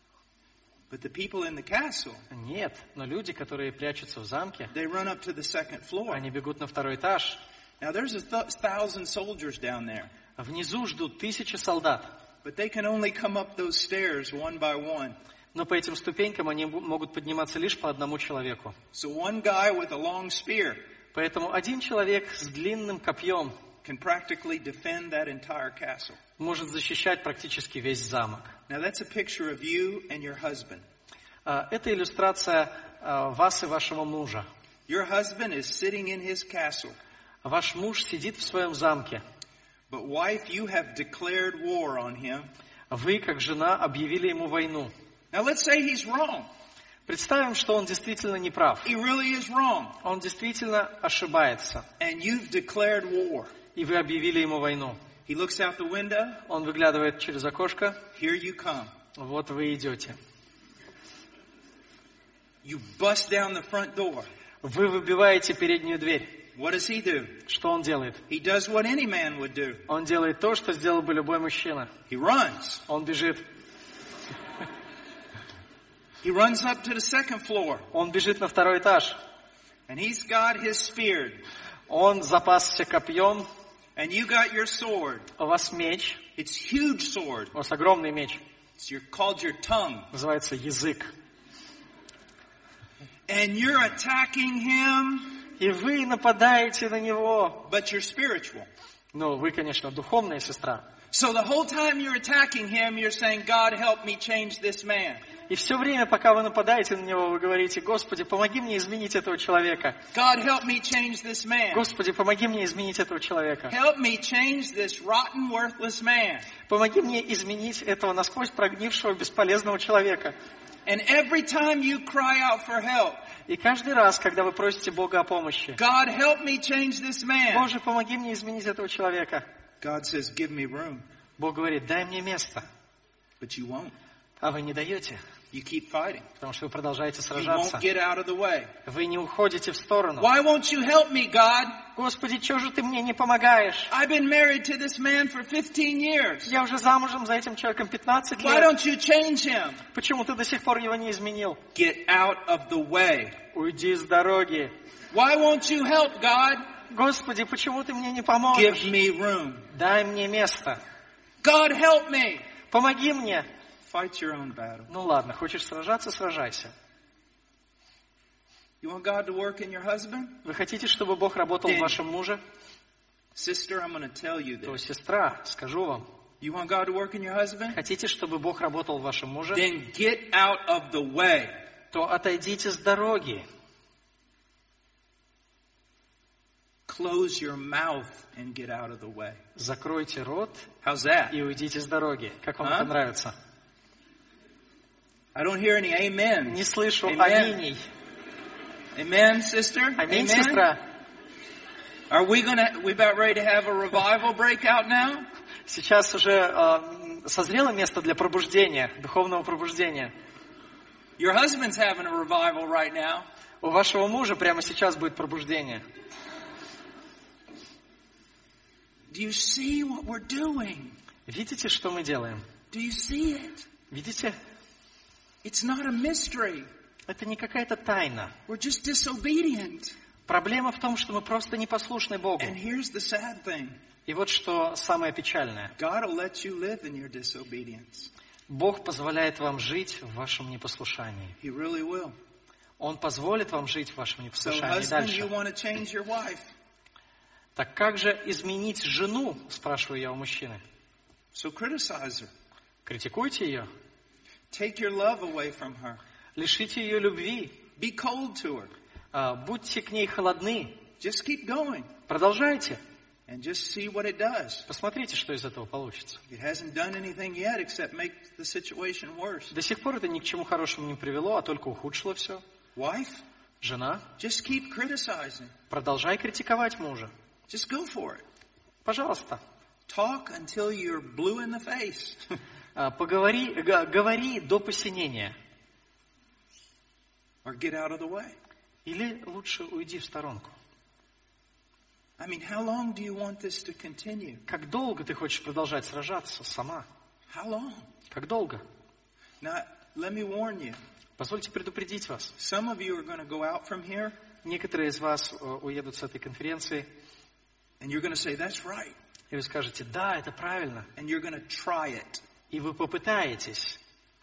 But the people in the castle, Нет, но люди, которые прячутся в замке, they run up to the second floor. они бегут на второй этаж. Now there's a th- thousand soldiers down there. Внизу ждут тысячи солдат. But they can only come up those stairs one by one. Но по этим ступенькам они бу- могут подниматься лишь по одному человеку. So one guy with a long spear Поэтому один человек с длинным копьем can practically defend that entire castle. может защищать практически весь замок. Now that's a picture of you and your husband. А, Это иллюстрация а, вас и вашего мужа. Your husband is sitting in his castle. Ваш муж сидит в своем замке. But wife, you have declared war on him. Вы, как жена, объявили ему войну. Now let's say he's wrong. Представим, что он действительно не прав. He really is wrong. Он действительно ошибается. And you've declared war. И вы объявили ему войну. He looks out the window. Он выглядывает через окошко. Here you come. Вот вы идете. You bust down the front door. Вы выбиваете переднюю дверь. What does he do? Что он делает? He does what any man would do. Он делает то, что сделал бы любой мужчина. He runs. Он бежит. He runs up to the second floor. Он бежит на второй этаж. And he's got his spear. Он запасся копьем. And you got your sword. У вас меч. It's huge sword. У вас огромный меч. It's your, called your tongue. Называется язык. And you're attacking him. И вы нападаете на него. But you're spiritual. Ну, вы, конечно, духовная сестра. So the whole time you're attacking him, you're saying, God, help me change this man. И все время, пока вы нападаете на него, вы говорите: Господи, помоги мне изменить этого человека. God, help me change this man. Господи, помоги мне изменить этого человека. Help me change this rotten, worthless man. Помоги мне изменить этого насквозь прогнившего, бесполезного человека. And every time you cry out for help, И каждый раз, когда вы просите Бога о помощи: God, help me change this man. Боже, помоги мне изменить этого человека. God says, give me room. Бог говорит: дай мне место. But you won't. А вы не даете, You keep fighting. потому что вы продолжаете You сражаться. won't get out of the way. Вы не уходите в сторону. Why won't you help me, God? Господи, чего же ты мне не помогаешь? I've been married to this man for fifteen years. Я уже замужем за этим человеком пятнадцать Why лет. don't you change him? Почему ты до сих пор его не изменил? Get out of the way. Уйди с дороги. Why won't you help, God? Господи, почему ты мне не Give поможешь? me room. Дай мне место. God, help me. Помоги мне. Fight your own battle. Ну ладно, хочешь сражаться, сражайся. You want God to work in your husband? Вы хотите, чтобы Бог работал в вашем муже? Sister, I'm going to tell you То, this. сестра, скажу вам. You want God to work in your husband? Хотите, чтобы Бог работал в вашем муже? Then get out of the way. То отойдите с дороги. Close your mouth and get out of the way. Закройте рот How's that? и уйдите с дороги. Как вам А? это нравится? I don't hear any amen. Не слышу Amen. аминей. Amen, sister? Аминь, Amen? сестра. Are we gonna, we about ready to have a revival break out now? Сейчас уже э, созрело место для пробуждения, духовного пробуждения. Your husband's having a revival right now. У вашего мужа прямо сейчас будет пробуждение. Do you see what we're doing? Видите, что мы делаем? Do you see it? Видите? It's not a mystery. Это не какая-то тайна. We're just disobedient. Проблема в том, что мы просто непослушны Богу. And here's the sad thing. И вот что самое печальное. God will let you live in your disobedience. Бог позволяет вам жить в вашем непослушании. He really will. Он позволит вам жить в вашем So, непослушании husband, you дальше. want to change your wife. Так как же изменить жену, спрашиваю я у мужчины. So criticize her. Критикуйте ее, Take your love away from her. лишите ее любви, Be cold to her. а, будьте к ней холодны, Just keep going продолжайте, and just see what it does. посмотрите, что из этого получится. It hasn't done anything yet except make the situation worse. До сих пор это ни к чему хорошему не привело, а только ухудшило все. Wife, Жена, just keep criticizing. продолжай критиковать мужа. Just go for it. Пожалуйста, Talk until you're blue in the face. а, поговори, г- говори до посинения. Or get out of the way. Или лучше уйди в сторонку. I mean, how long do you want this to continue? Как долго ты хочешь продолжать сражаться сама? How long? Как долго? Now, let me warn you. Позвольте предупредить вас. Some of you are going to go out from here Некоторые из вас э, уедут с этой конференции, and you're going to say, that's right. и вы скажете, да, это правильно. And you're going to try it. И вы попытаетесь.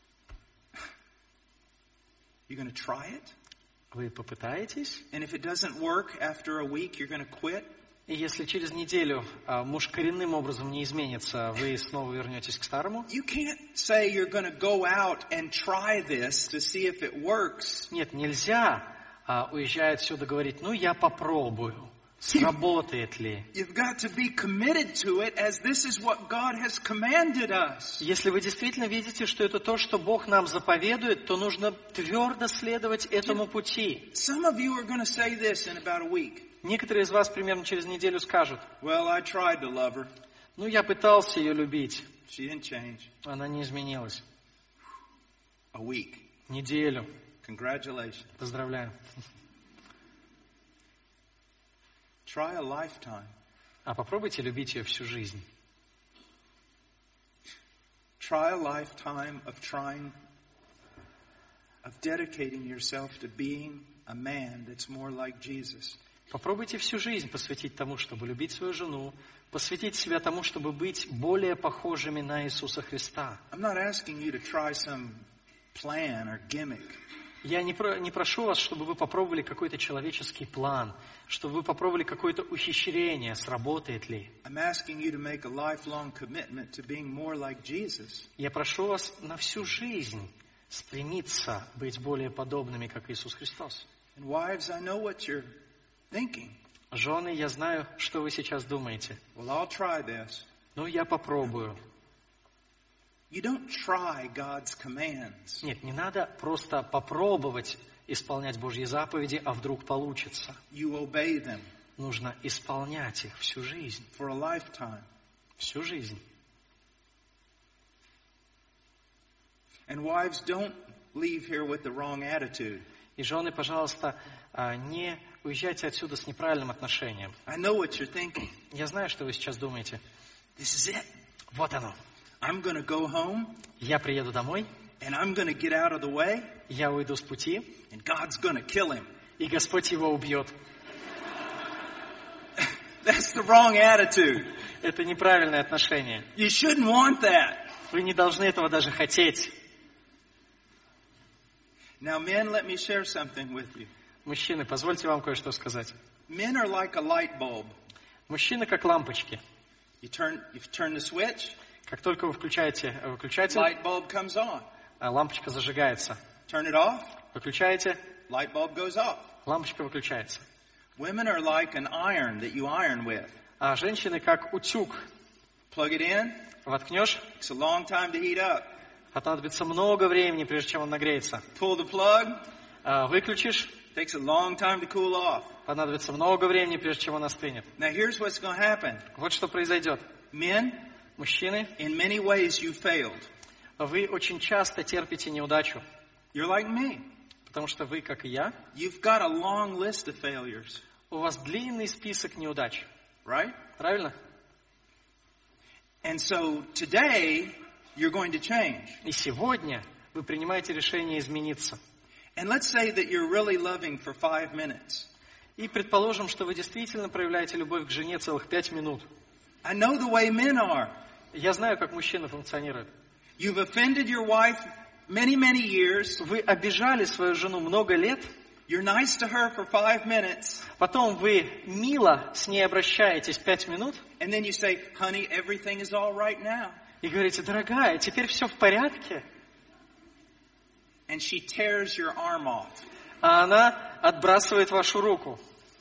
You're going to try it. Вы попытаетесь. And if it doesn't work after a week, you're going to quit. И если через неделю а, муж коренным образом не изменится, вы снова вернетесь к старому. You can't say you're going to go out and try this to see if it works. Нет, нельзя, а, уезжая отсюда, говорить, ну, я попробую, сработает ли. You've got to be committed to it as this is what God has commanded us. Если вы действительно видите, что это то, что Бог нам заповедует, то нужно твердо следовать этому пути. Some of you are going to say this in about a week. Некоторые из вас примерно через неделю скажут, Well, I tried to love her. ну, я пытался ее любить, She didn't change. она не изменилась. A week. Неделю. Congratulations. Поздравляю. Try a lifetime. А попробуйте любить ее всю жизнь. Try a lifetime of trying, of dedicating yourself to being a man that's more like Jesus. Попробуйте всю жизнь посвятить тому, чтобы любить свою жену, посвятить себя тому, чтобы быть более похожими на Иисуса Христа. I'm not asking you to try some plan or gimmick. Я не, про, не прошу вас, чтобы вы попробовали какой-то человеческий план, чтобы вы попробовали какое-то ухищрение, сработает ли. I'm asking you to make a lifelong commitment to being more like Jesus. Я прошу вас на всю жизнь стремиться быть более подобными, как Иисус Христос. And wives, I know what you're thinking. Жены, я знаю, что вы сейчас думаете. Well, I'll try this. Ну, я попробую. You don't try God's commands. Нет, не надо просто попробовать исполнять Божьи заповеди, а вдруг получится. You obey them Нужно исполнять их всю жизнь. for a lifetime. Всю жизнь. And wives, don't leave here with the wrong attitude. И жены, пожалуйста, не уезжайте отсюда с неправильным отношением. I know what you're thinking. Я знаю, что вы сейчас думаете. This is it. Вот оно. I'm going to go home Я приеду домой, and I'm going to get out of the way я уйду с пути, and God's going to kill him. и Господь его убьет. That's the wrong attitude. Это неправильное отношение. You shouldn't want that. Вы не должны этого даже хотеть. Now, men, let me share something with you. Мужчины, позвольте вам кое-что сказать. Men are like a light bulb. Мужчины как лампочки. You turn, you turn the switch, Как только вы включаете выключатель, light bulb comes on. лампочка зажигается. Turn it off, Выключаете, light bulb goes off. лампочка выключается. Women are like an iron that you iron with. А женщины как утюг. Plug it in, Воткнешь, it's a long time to heat up. Понадобится много времени, прежде чем он нагреется. Pull the plug. А, выключишь. Takes a long time to cool off. Понадобится много времени, прежде чем он остынет. Now here's what's going to happen. Вот что произойдет. Men, Мужчины, in many ways you failed. вы очень часто терпите неудачу, You're like me. потому что вы, как и я, You've got a long list of failures, у вас длинный список неудач. right? Правильно? And so today you're going to change. И сегодня вы принимаете решение измениться. And let's say that you're really loving for five minutes. И предположим, что вы действительно проявляете любовь к жене целых пять минут. I know the way men are. Я знаю, как мужчина функционирует. You've offended your wife many, many years. Вы обижали свою жену много лет, You're nice to her for five minutes. потом вы мило с ней обращаетесь пять минут And then you say, honey, everything is all right now. и говорите: дорогая, теперь все в порядке. And she tears your arm off. А она отбрасывает вашу руку.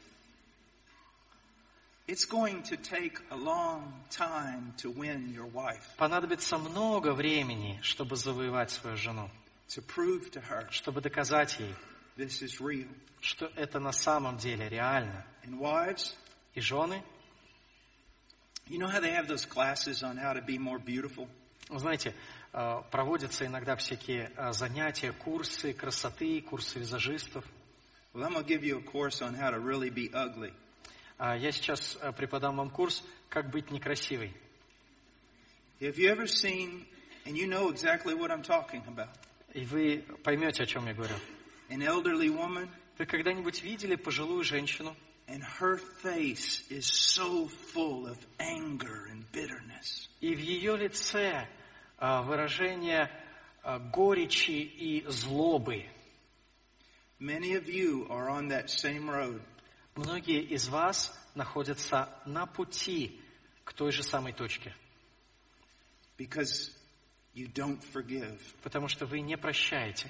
It's going to take a long time to win your wife, Понадобится много времени, чтобы завоевать свою жену, to prove to her чтобы доказать ей, this is real. что это на самом деле реально. And wives, И жены, you know how they have those classes on how to be more beautiful? вы знаете, э, проводятся иногда всякие э, занятия, курсы красоты, курсы визажистов. Well, I'm going to give you a course on how to really be ugly. А я сейчас э, преподам вам курс «Как быть некрасивой». Have you ever seen, and you know exactly what I'm talking about, И вы поймете, о чем я говорю. an elderly woman, Вы когда-нибудь видели пожилую женщину, and her face is so full of anger and bitterness. и в ее лице э, выражение э, горечи и злобы? Many of you are on that same road. Многие из вас находятся на пути к той же самой точке, Because you don't forgive. потому что вы не прощаете.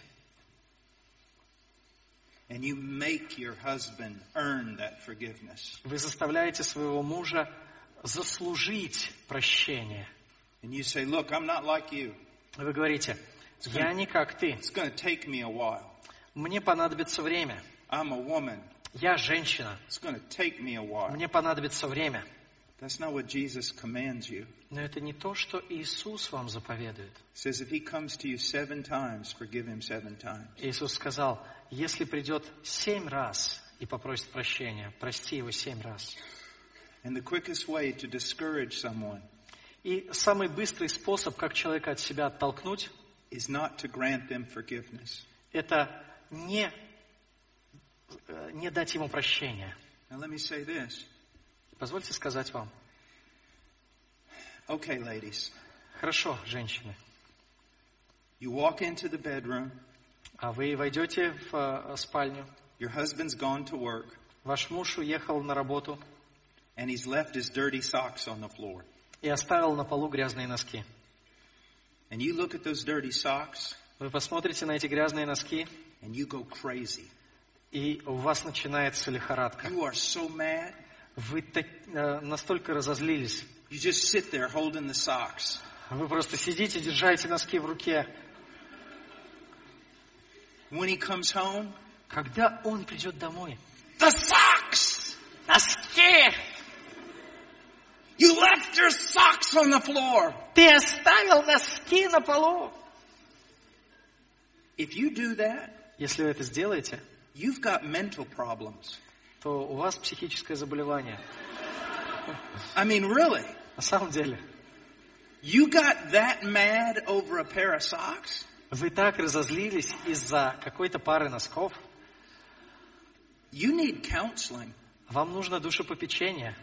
And you make your husband earn that forgiveness. Вы заставляете своего мужа заслужить прощение. And you say, look, I'm not like you. Вы говорите: я не как ты, It's going to take me a while. мне понадобится время. I'm a woman. Я женщина, It's going to take me a while. мне понадобится время. That's not what Jesus commands you. Но это не то, что Иисус вам заповедует. He says, if he comes to you seven times, forgive him seven times. Иисус сказал: если придет семь раз и попросит прощения, прости его семь раз. And the quickest way to discourage someone И самый быстрый способ, как человека от себя оттолкнуть, is not to grant them forgiveness. это не, не дать ему прощения. Now let me say this. Позвольте сказать вам. Okay, ladies. Хорошо, женщины. You walk into the bedroom. А вы войдете в э, спальню. Your husband's gone to work. Ваш муж уехал на работу And he's left his dirty socks on the floor. и оставил на полу грязные носки. And you look at those dirty socks Вы посмотрите на эти грязные носки, and you go crazy. и у вас начинается лихорадка. You are so mad. Вы так, э, настолько разозлились. You just sit there holding the socks. Вы просто сидите, держите носки в руке. When he comes home, Когда он придет домой? the socks! Носки! You left your socks on the floor. Ты оставил носки на полу. If you do that, Если вы это сделаете, you've got mental problems. то у вас психическое заболевание. I mean, really. На самом деле. You got that mad over a pair of socks? Вы так разозлились из-за какой-то пары носков. You need counseling. Вам нужно душепопечение.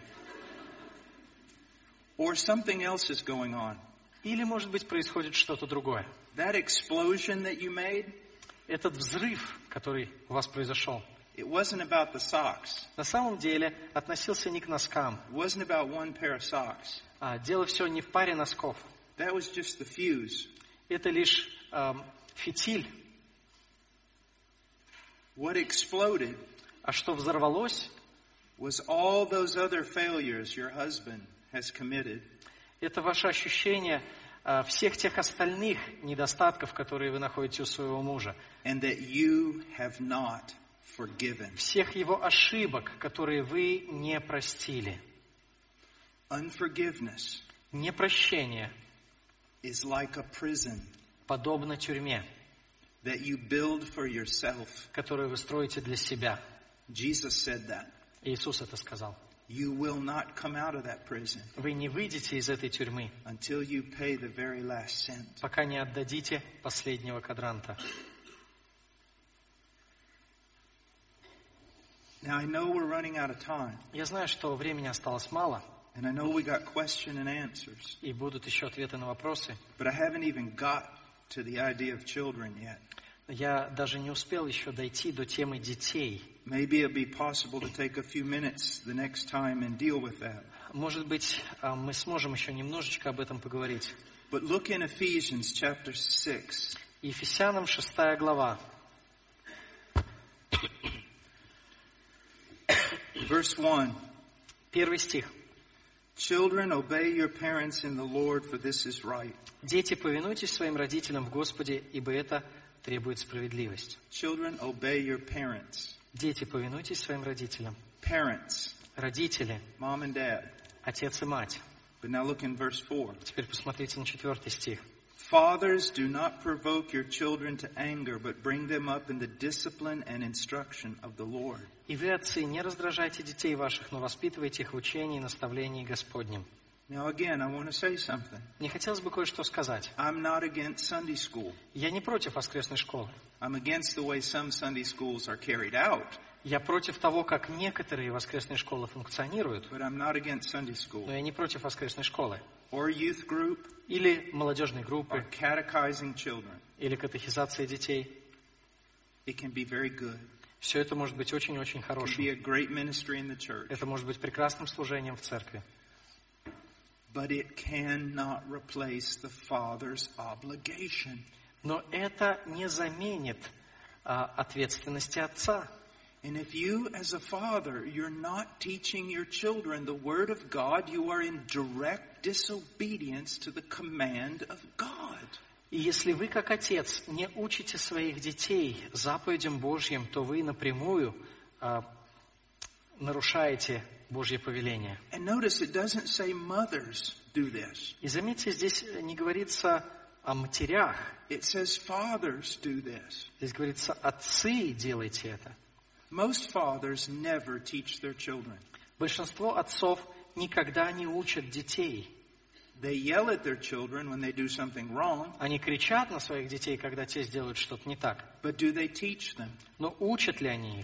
Or something else is going on. Или, может быть, происходит что-то другое. That explosion that you made, Этот взрыв, который у вас произошел, it wasn't about the socks. на самом деле относился не к носкам. It wasn't about one pair of socks. А дело все не в паре носков. That was just the fuse. Это лишь эм, фитиль. What exploded А что взорвалось, was all those other failures your husband has committed. это ваше ощущение а, всех тех остальных недостатков, которые вы находите у своего мужа. And that you have not forgiven. Всех его ошибок, которые вы не простили. Unforgiveness Непрощение is like a prison подобно тюрьме, that you build for yourself. которую вы строите для себя. Jesus said that. Иисус это сказал. You will not come out of that prison Вы не выйдете из этой тюрьмы, until you pay the very last cent. пока не отдадите последнего квадранта. Now I know we're running out of time, Я знаю, что времени осталось мало, and I know we got question and answers, и будут еще ответы на вопросы. but I haven't even got to the idea of children yet. Я даже не успел еще дойти до темы детей. Maybe it'd be possible to take a few minutes the next time and deal with that. Может быть, мы сможем еще немножечко об этом поговорить. But look in Ephesians chapter six. Ефесянам шестая глава. Verse one. Первый стих. Children, obey your parents in the Lord, for this is right. Дети, повинуйтесь своим родителям в Господе, ибо это требует справедливость. Children, obey your parents. Дети, повинуйтесь своим родителям. Parents, Родители, mom and dad. отец и мать. But now look in verse four. Теперь посмотрите на четвертый стих. Fathers, do not provoke your children to anger, but bring them up in the discipline and instruction of the Lord. И вы, отцы, не раздражайте детей ваших, но воспитывайте их в учении и наставлении Господнем. Now again, I want to say something. Мне хотелось бы кое-что сказать. I'm not against Sunday school. Я не против воскресной школы. I'm against the way some Sunday schools are carried out. Я против того, как некоторые воскресные школы функционируют, But I'm not against Sunday но school. я не против воскресной школы. Or youth group, Или молодежной or группы, catechizing children. или катехизация детей. It can be very good. Все это может быть очень-очень It can be хорошим. a great ministry in the church. Это может быть прекрасным служением в церкви. But it cannot replace the father's obligation. Но это не заменит а, ответственности отца. And if you, as a father, you're not teaching your children the Word of God, you are in direct disobedience to the command of God. И если вы, как отец, не учите своих детей заповедям Божьим, то вы напрямую а, нарушаете Божье повеление. And notice it doesn't say mothers do this. И заметьте, здесь не говорится о матерях. It says fathers do this. Здесь говорится, отцы, делайте это. Most fathers never teach their children. Большинство отцов никогда не учат детей. They yell at their children when they do something wrong, Они кричат на своих детей, когда те сделают что-то не так. but do they teach them? Но учат ли они их?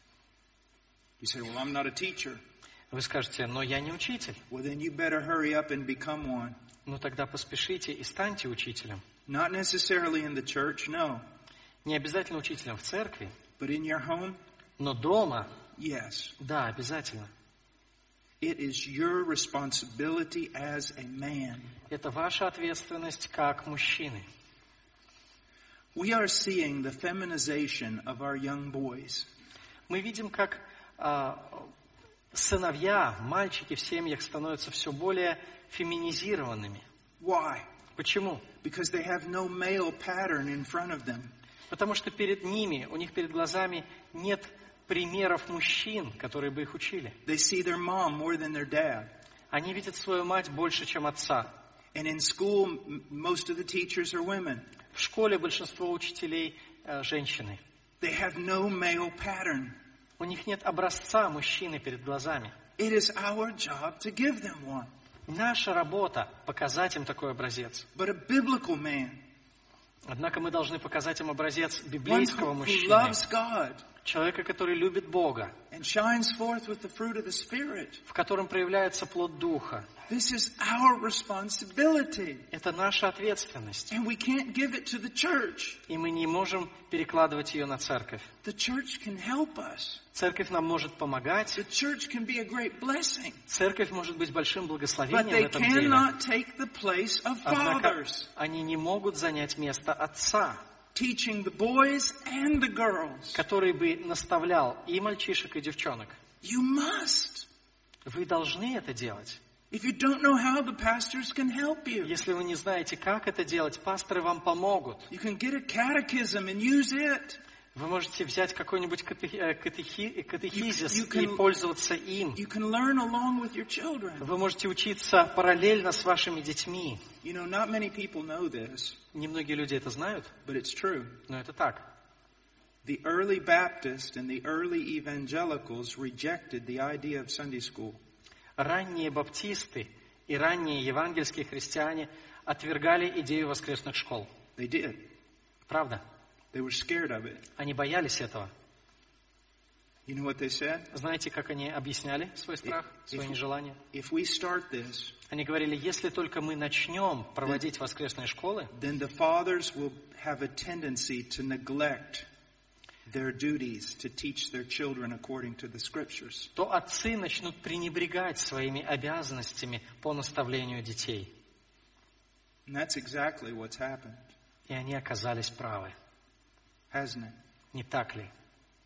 You say, well, I'm not a teacher. Вы скажете, но я не учитель. Well, then you better hurry up and become one. Ну тогда поспешите и станьте учителем. Not necessarily in the church, no. Не обязательно учителем в церкви, But in your home, но дома, yes. да, обязательно. It is your responsibility as a man. Это ваша ответственность как мужчины. We are seeing the feminization of our young boys. Мы видим, как а, сыновья, мальчики в семьях становятся все более феминизированными. Why? Почему? Because they have no male pattern in front of them. Потому что перед ними, у них перед глазами нет примеров мужчин, которые бы их учили. They see their mom more than their dad. Они видят свою мать больше, чем отца. And in school, m- most of the teachers are women. В школе большинство учителей э, женщины. They have no male pattern. У них нет образца мужчины перед глазами. It is our job to give them one. Наша работа – показать им такой образец. But a biblical man, Однако мы должны показать им образец one библейского who, who мужчины. loves God Человека, который любит Бога, and shines forth with the fruit of the Spirit. в котором проявляется плод Духа. This is our responsibility. Это наша ответственность. And we can't give it to the church. И мы не можем перекладывать ее на церковь. The church can help us. Церковь нам может помогать. The church can be a great blessing. Церковь может быть большим But благословением в they этом деле. cannot take the place of Однако fathers, они не могут занять место отца, teaching the boys and the girls. который бы наставлял и мальчишек, и девчонок. You must. Вы должны это делать. If you don't know how, the pastors can help you. Если вы не знаете, как это делать, пасторы вам помогут. You can get a catechism and use it. Вы можете взять какой-нибудь катехи- катехи- катехизис You- you can- и пользоваться им. You can learn along with your children. Вы можете учиться параллельно с вашими детьми. You know, not many people know this, Немногие люди это знают, but it's true. но это так. The early Baptists and the early evangelicals rejected the idea of Sunday school. Ранние баптисты и ранние евангельские христиане отвергали идею воскресных школ. They did. Правда? They were scared of it. Они боялись этого. You know what they said? Знаете, как они объясняли свой страх, свое If- нежелание? If we start this, Они говорили, если только мы начнем проводить воскресные школы, then the fathers will have a tendency to neglect their duties to teach their children according to the scriptures. то отцы начнут пренебрегать своими обязанностями по наставлению детей. And that's exactly what's happened, И они оказались правы. hasn't it? Не так ли?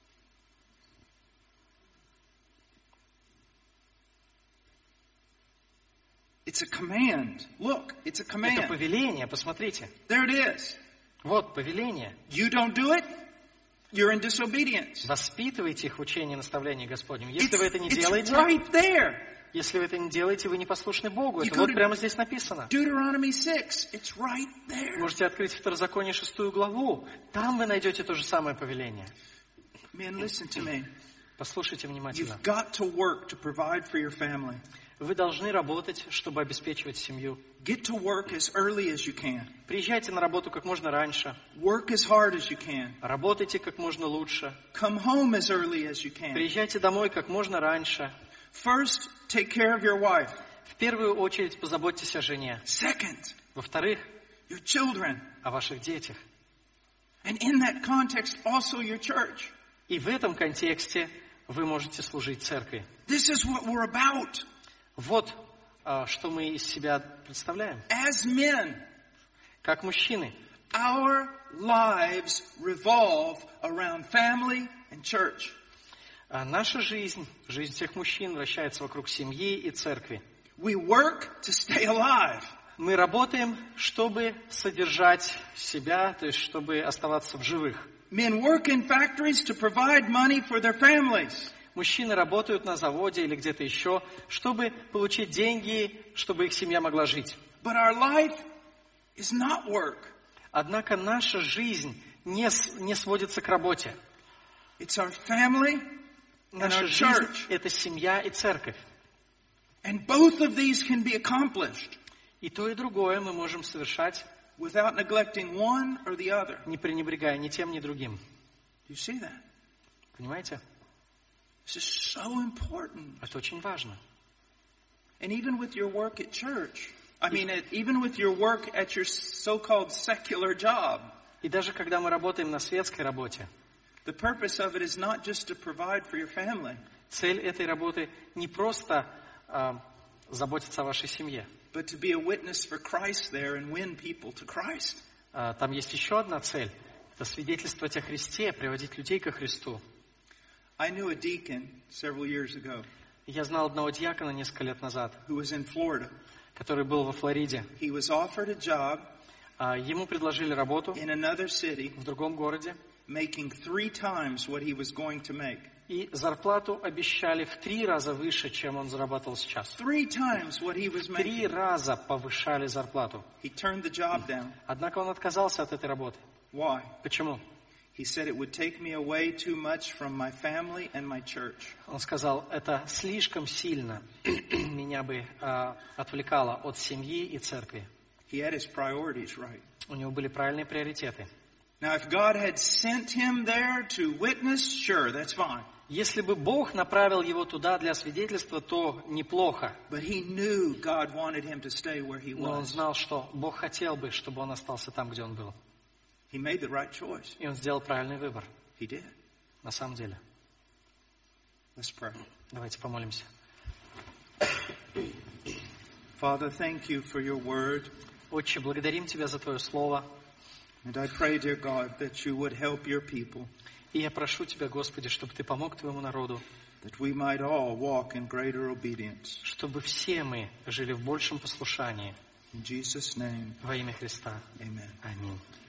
It's a command. Look, it's a Это command. повеление, посмотрите. There it is. Вот повеление. You don't do it, you're in disobedience. Воспитывайте их в учении и наставлении Господнем. Если It's, вы это не it's делаете, right there. если вы это не делаете, вы не послушны Богу. You Это go вот to- прямо здесь написано. Deuteronomy six. It's right there. Можете открыть Второзаконие шестую главу. Там вы найдете то же самое повеление. Men, listen to me. Послушайте внимательно. You've got to work to provide for your family. Вы должны работать, чтобы обеспечивать семью. Get to work as early as you can. Приезжайте на работу как можно раньше. Work as hard as you can. Работайте как можно лучше. Come home as early as you can. Приезжайте домой как можно раньше. First, take care of your wife. В первую очередь позаботьтесь о жене. Second, Во-вторых, your children. о ваших детях. And in that context, also your church. И в этом контексте вы можете служить церкви. This is what we're about. Вот а, что мы из себя представляем. As men, Как мужчины, our lives revolve around family and church. а наша жизнь, жизнь всех мужчин вращается вокруг семьи и церкви. We work to stay alive. Мы работаем, чтобы содержать себя, то есть чтобы оставаться в живых. Men work in factories to provide money for their families. Мужчины работают на заводе или где-то еще, чтобы получить деньги, чтобы их семья могла жить. But our life is not work. Однако наша жизнь не, с- не сводится к работе. It's our family and Наша our жизнь church. – это семья и церковь. And both of these can be accomplished И то, и другое мы можем совершать, without neglecting one or the other. не пренебрегая ни тем, ни другим. Do you see that? Понимаете? This is so important. Это очень важно. And even with your work at church, I mean, at, even with your work at your so-called secular job, И даже когда мы работаем на светской работе, the purpose of it is not just to provide for your family, цель этой работы не просто а, заботиться о вашей семье. but to be a witness for Christ there and win people to Christ. А, там есть еще одна цель. Это свидетельствовать о Христе, приводить людей ко Христу. I knew a deacon several years ago Я знал одного диакона несколько лет назад, who was in Florida. который был во Флориде. He was offered a job А, ему предложили работу in another city, в другом городе, making three times what he was going to make. и зарплату обещали в три раза выше, чем он зарабатывал сейчас. Three times what he was Три making. раза повышали зарплату. He turned the job down. Однако он отказался от этой работы. Why? Почему? He said it would take me away too much from my family and my church. Он сказал, это слишком сильно меня бы а, отвлекало от семьи и церкви. He had his priorities right. У него были правильные приоритеты. Now, if God had sent him there to witness, sure, that's fine. Если бы Бог направил его туда для свидетельства, то неплохо. But he knew God wanted him to stay where he Но он was. знал, что Бог хотел бы, чтобы он остался там, где он был. He made the right choice. И он сделал правильный выбор, He did. на самом деле. Let's pray. Давайте помолимся. Father, thank you for your word. Отче, благодарим Тебя за Твое Слово. And I pray, dear God, that you would help your people, И я прошу Тебя, Господи, чтобы Ты помог Твоему народу, that we might all walk in greater obedience. чтобы все мы жили в большем послушании. In Jesus' name, Во имя Христа. amen. Аминь.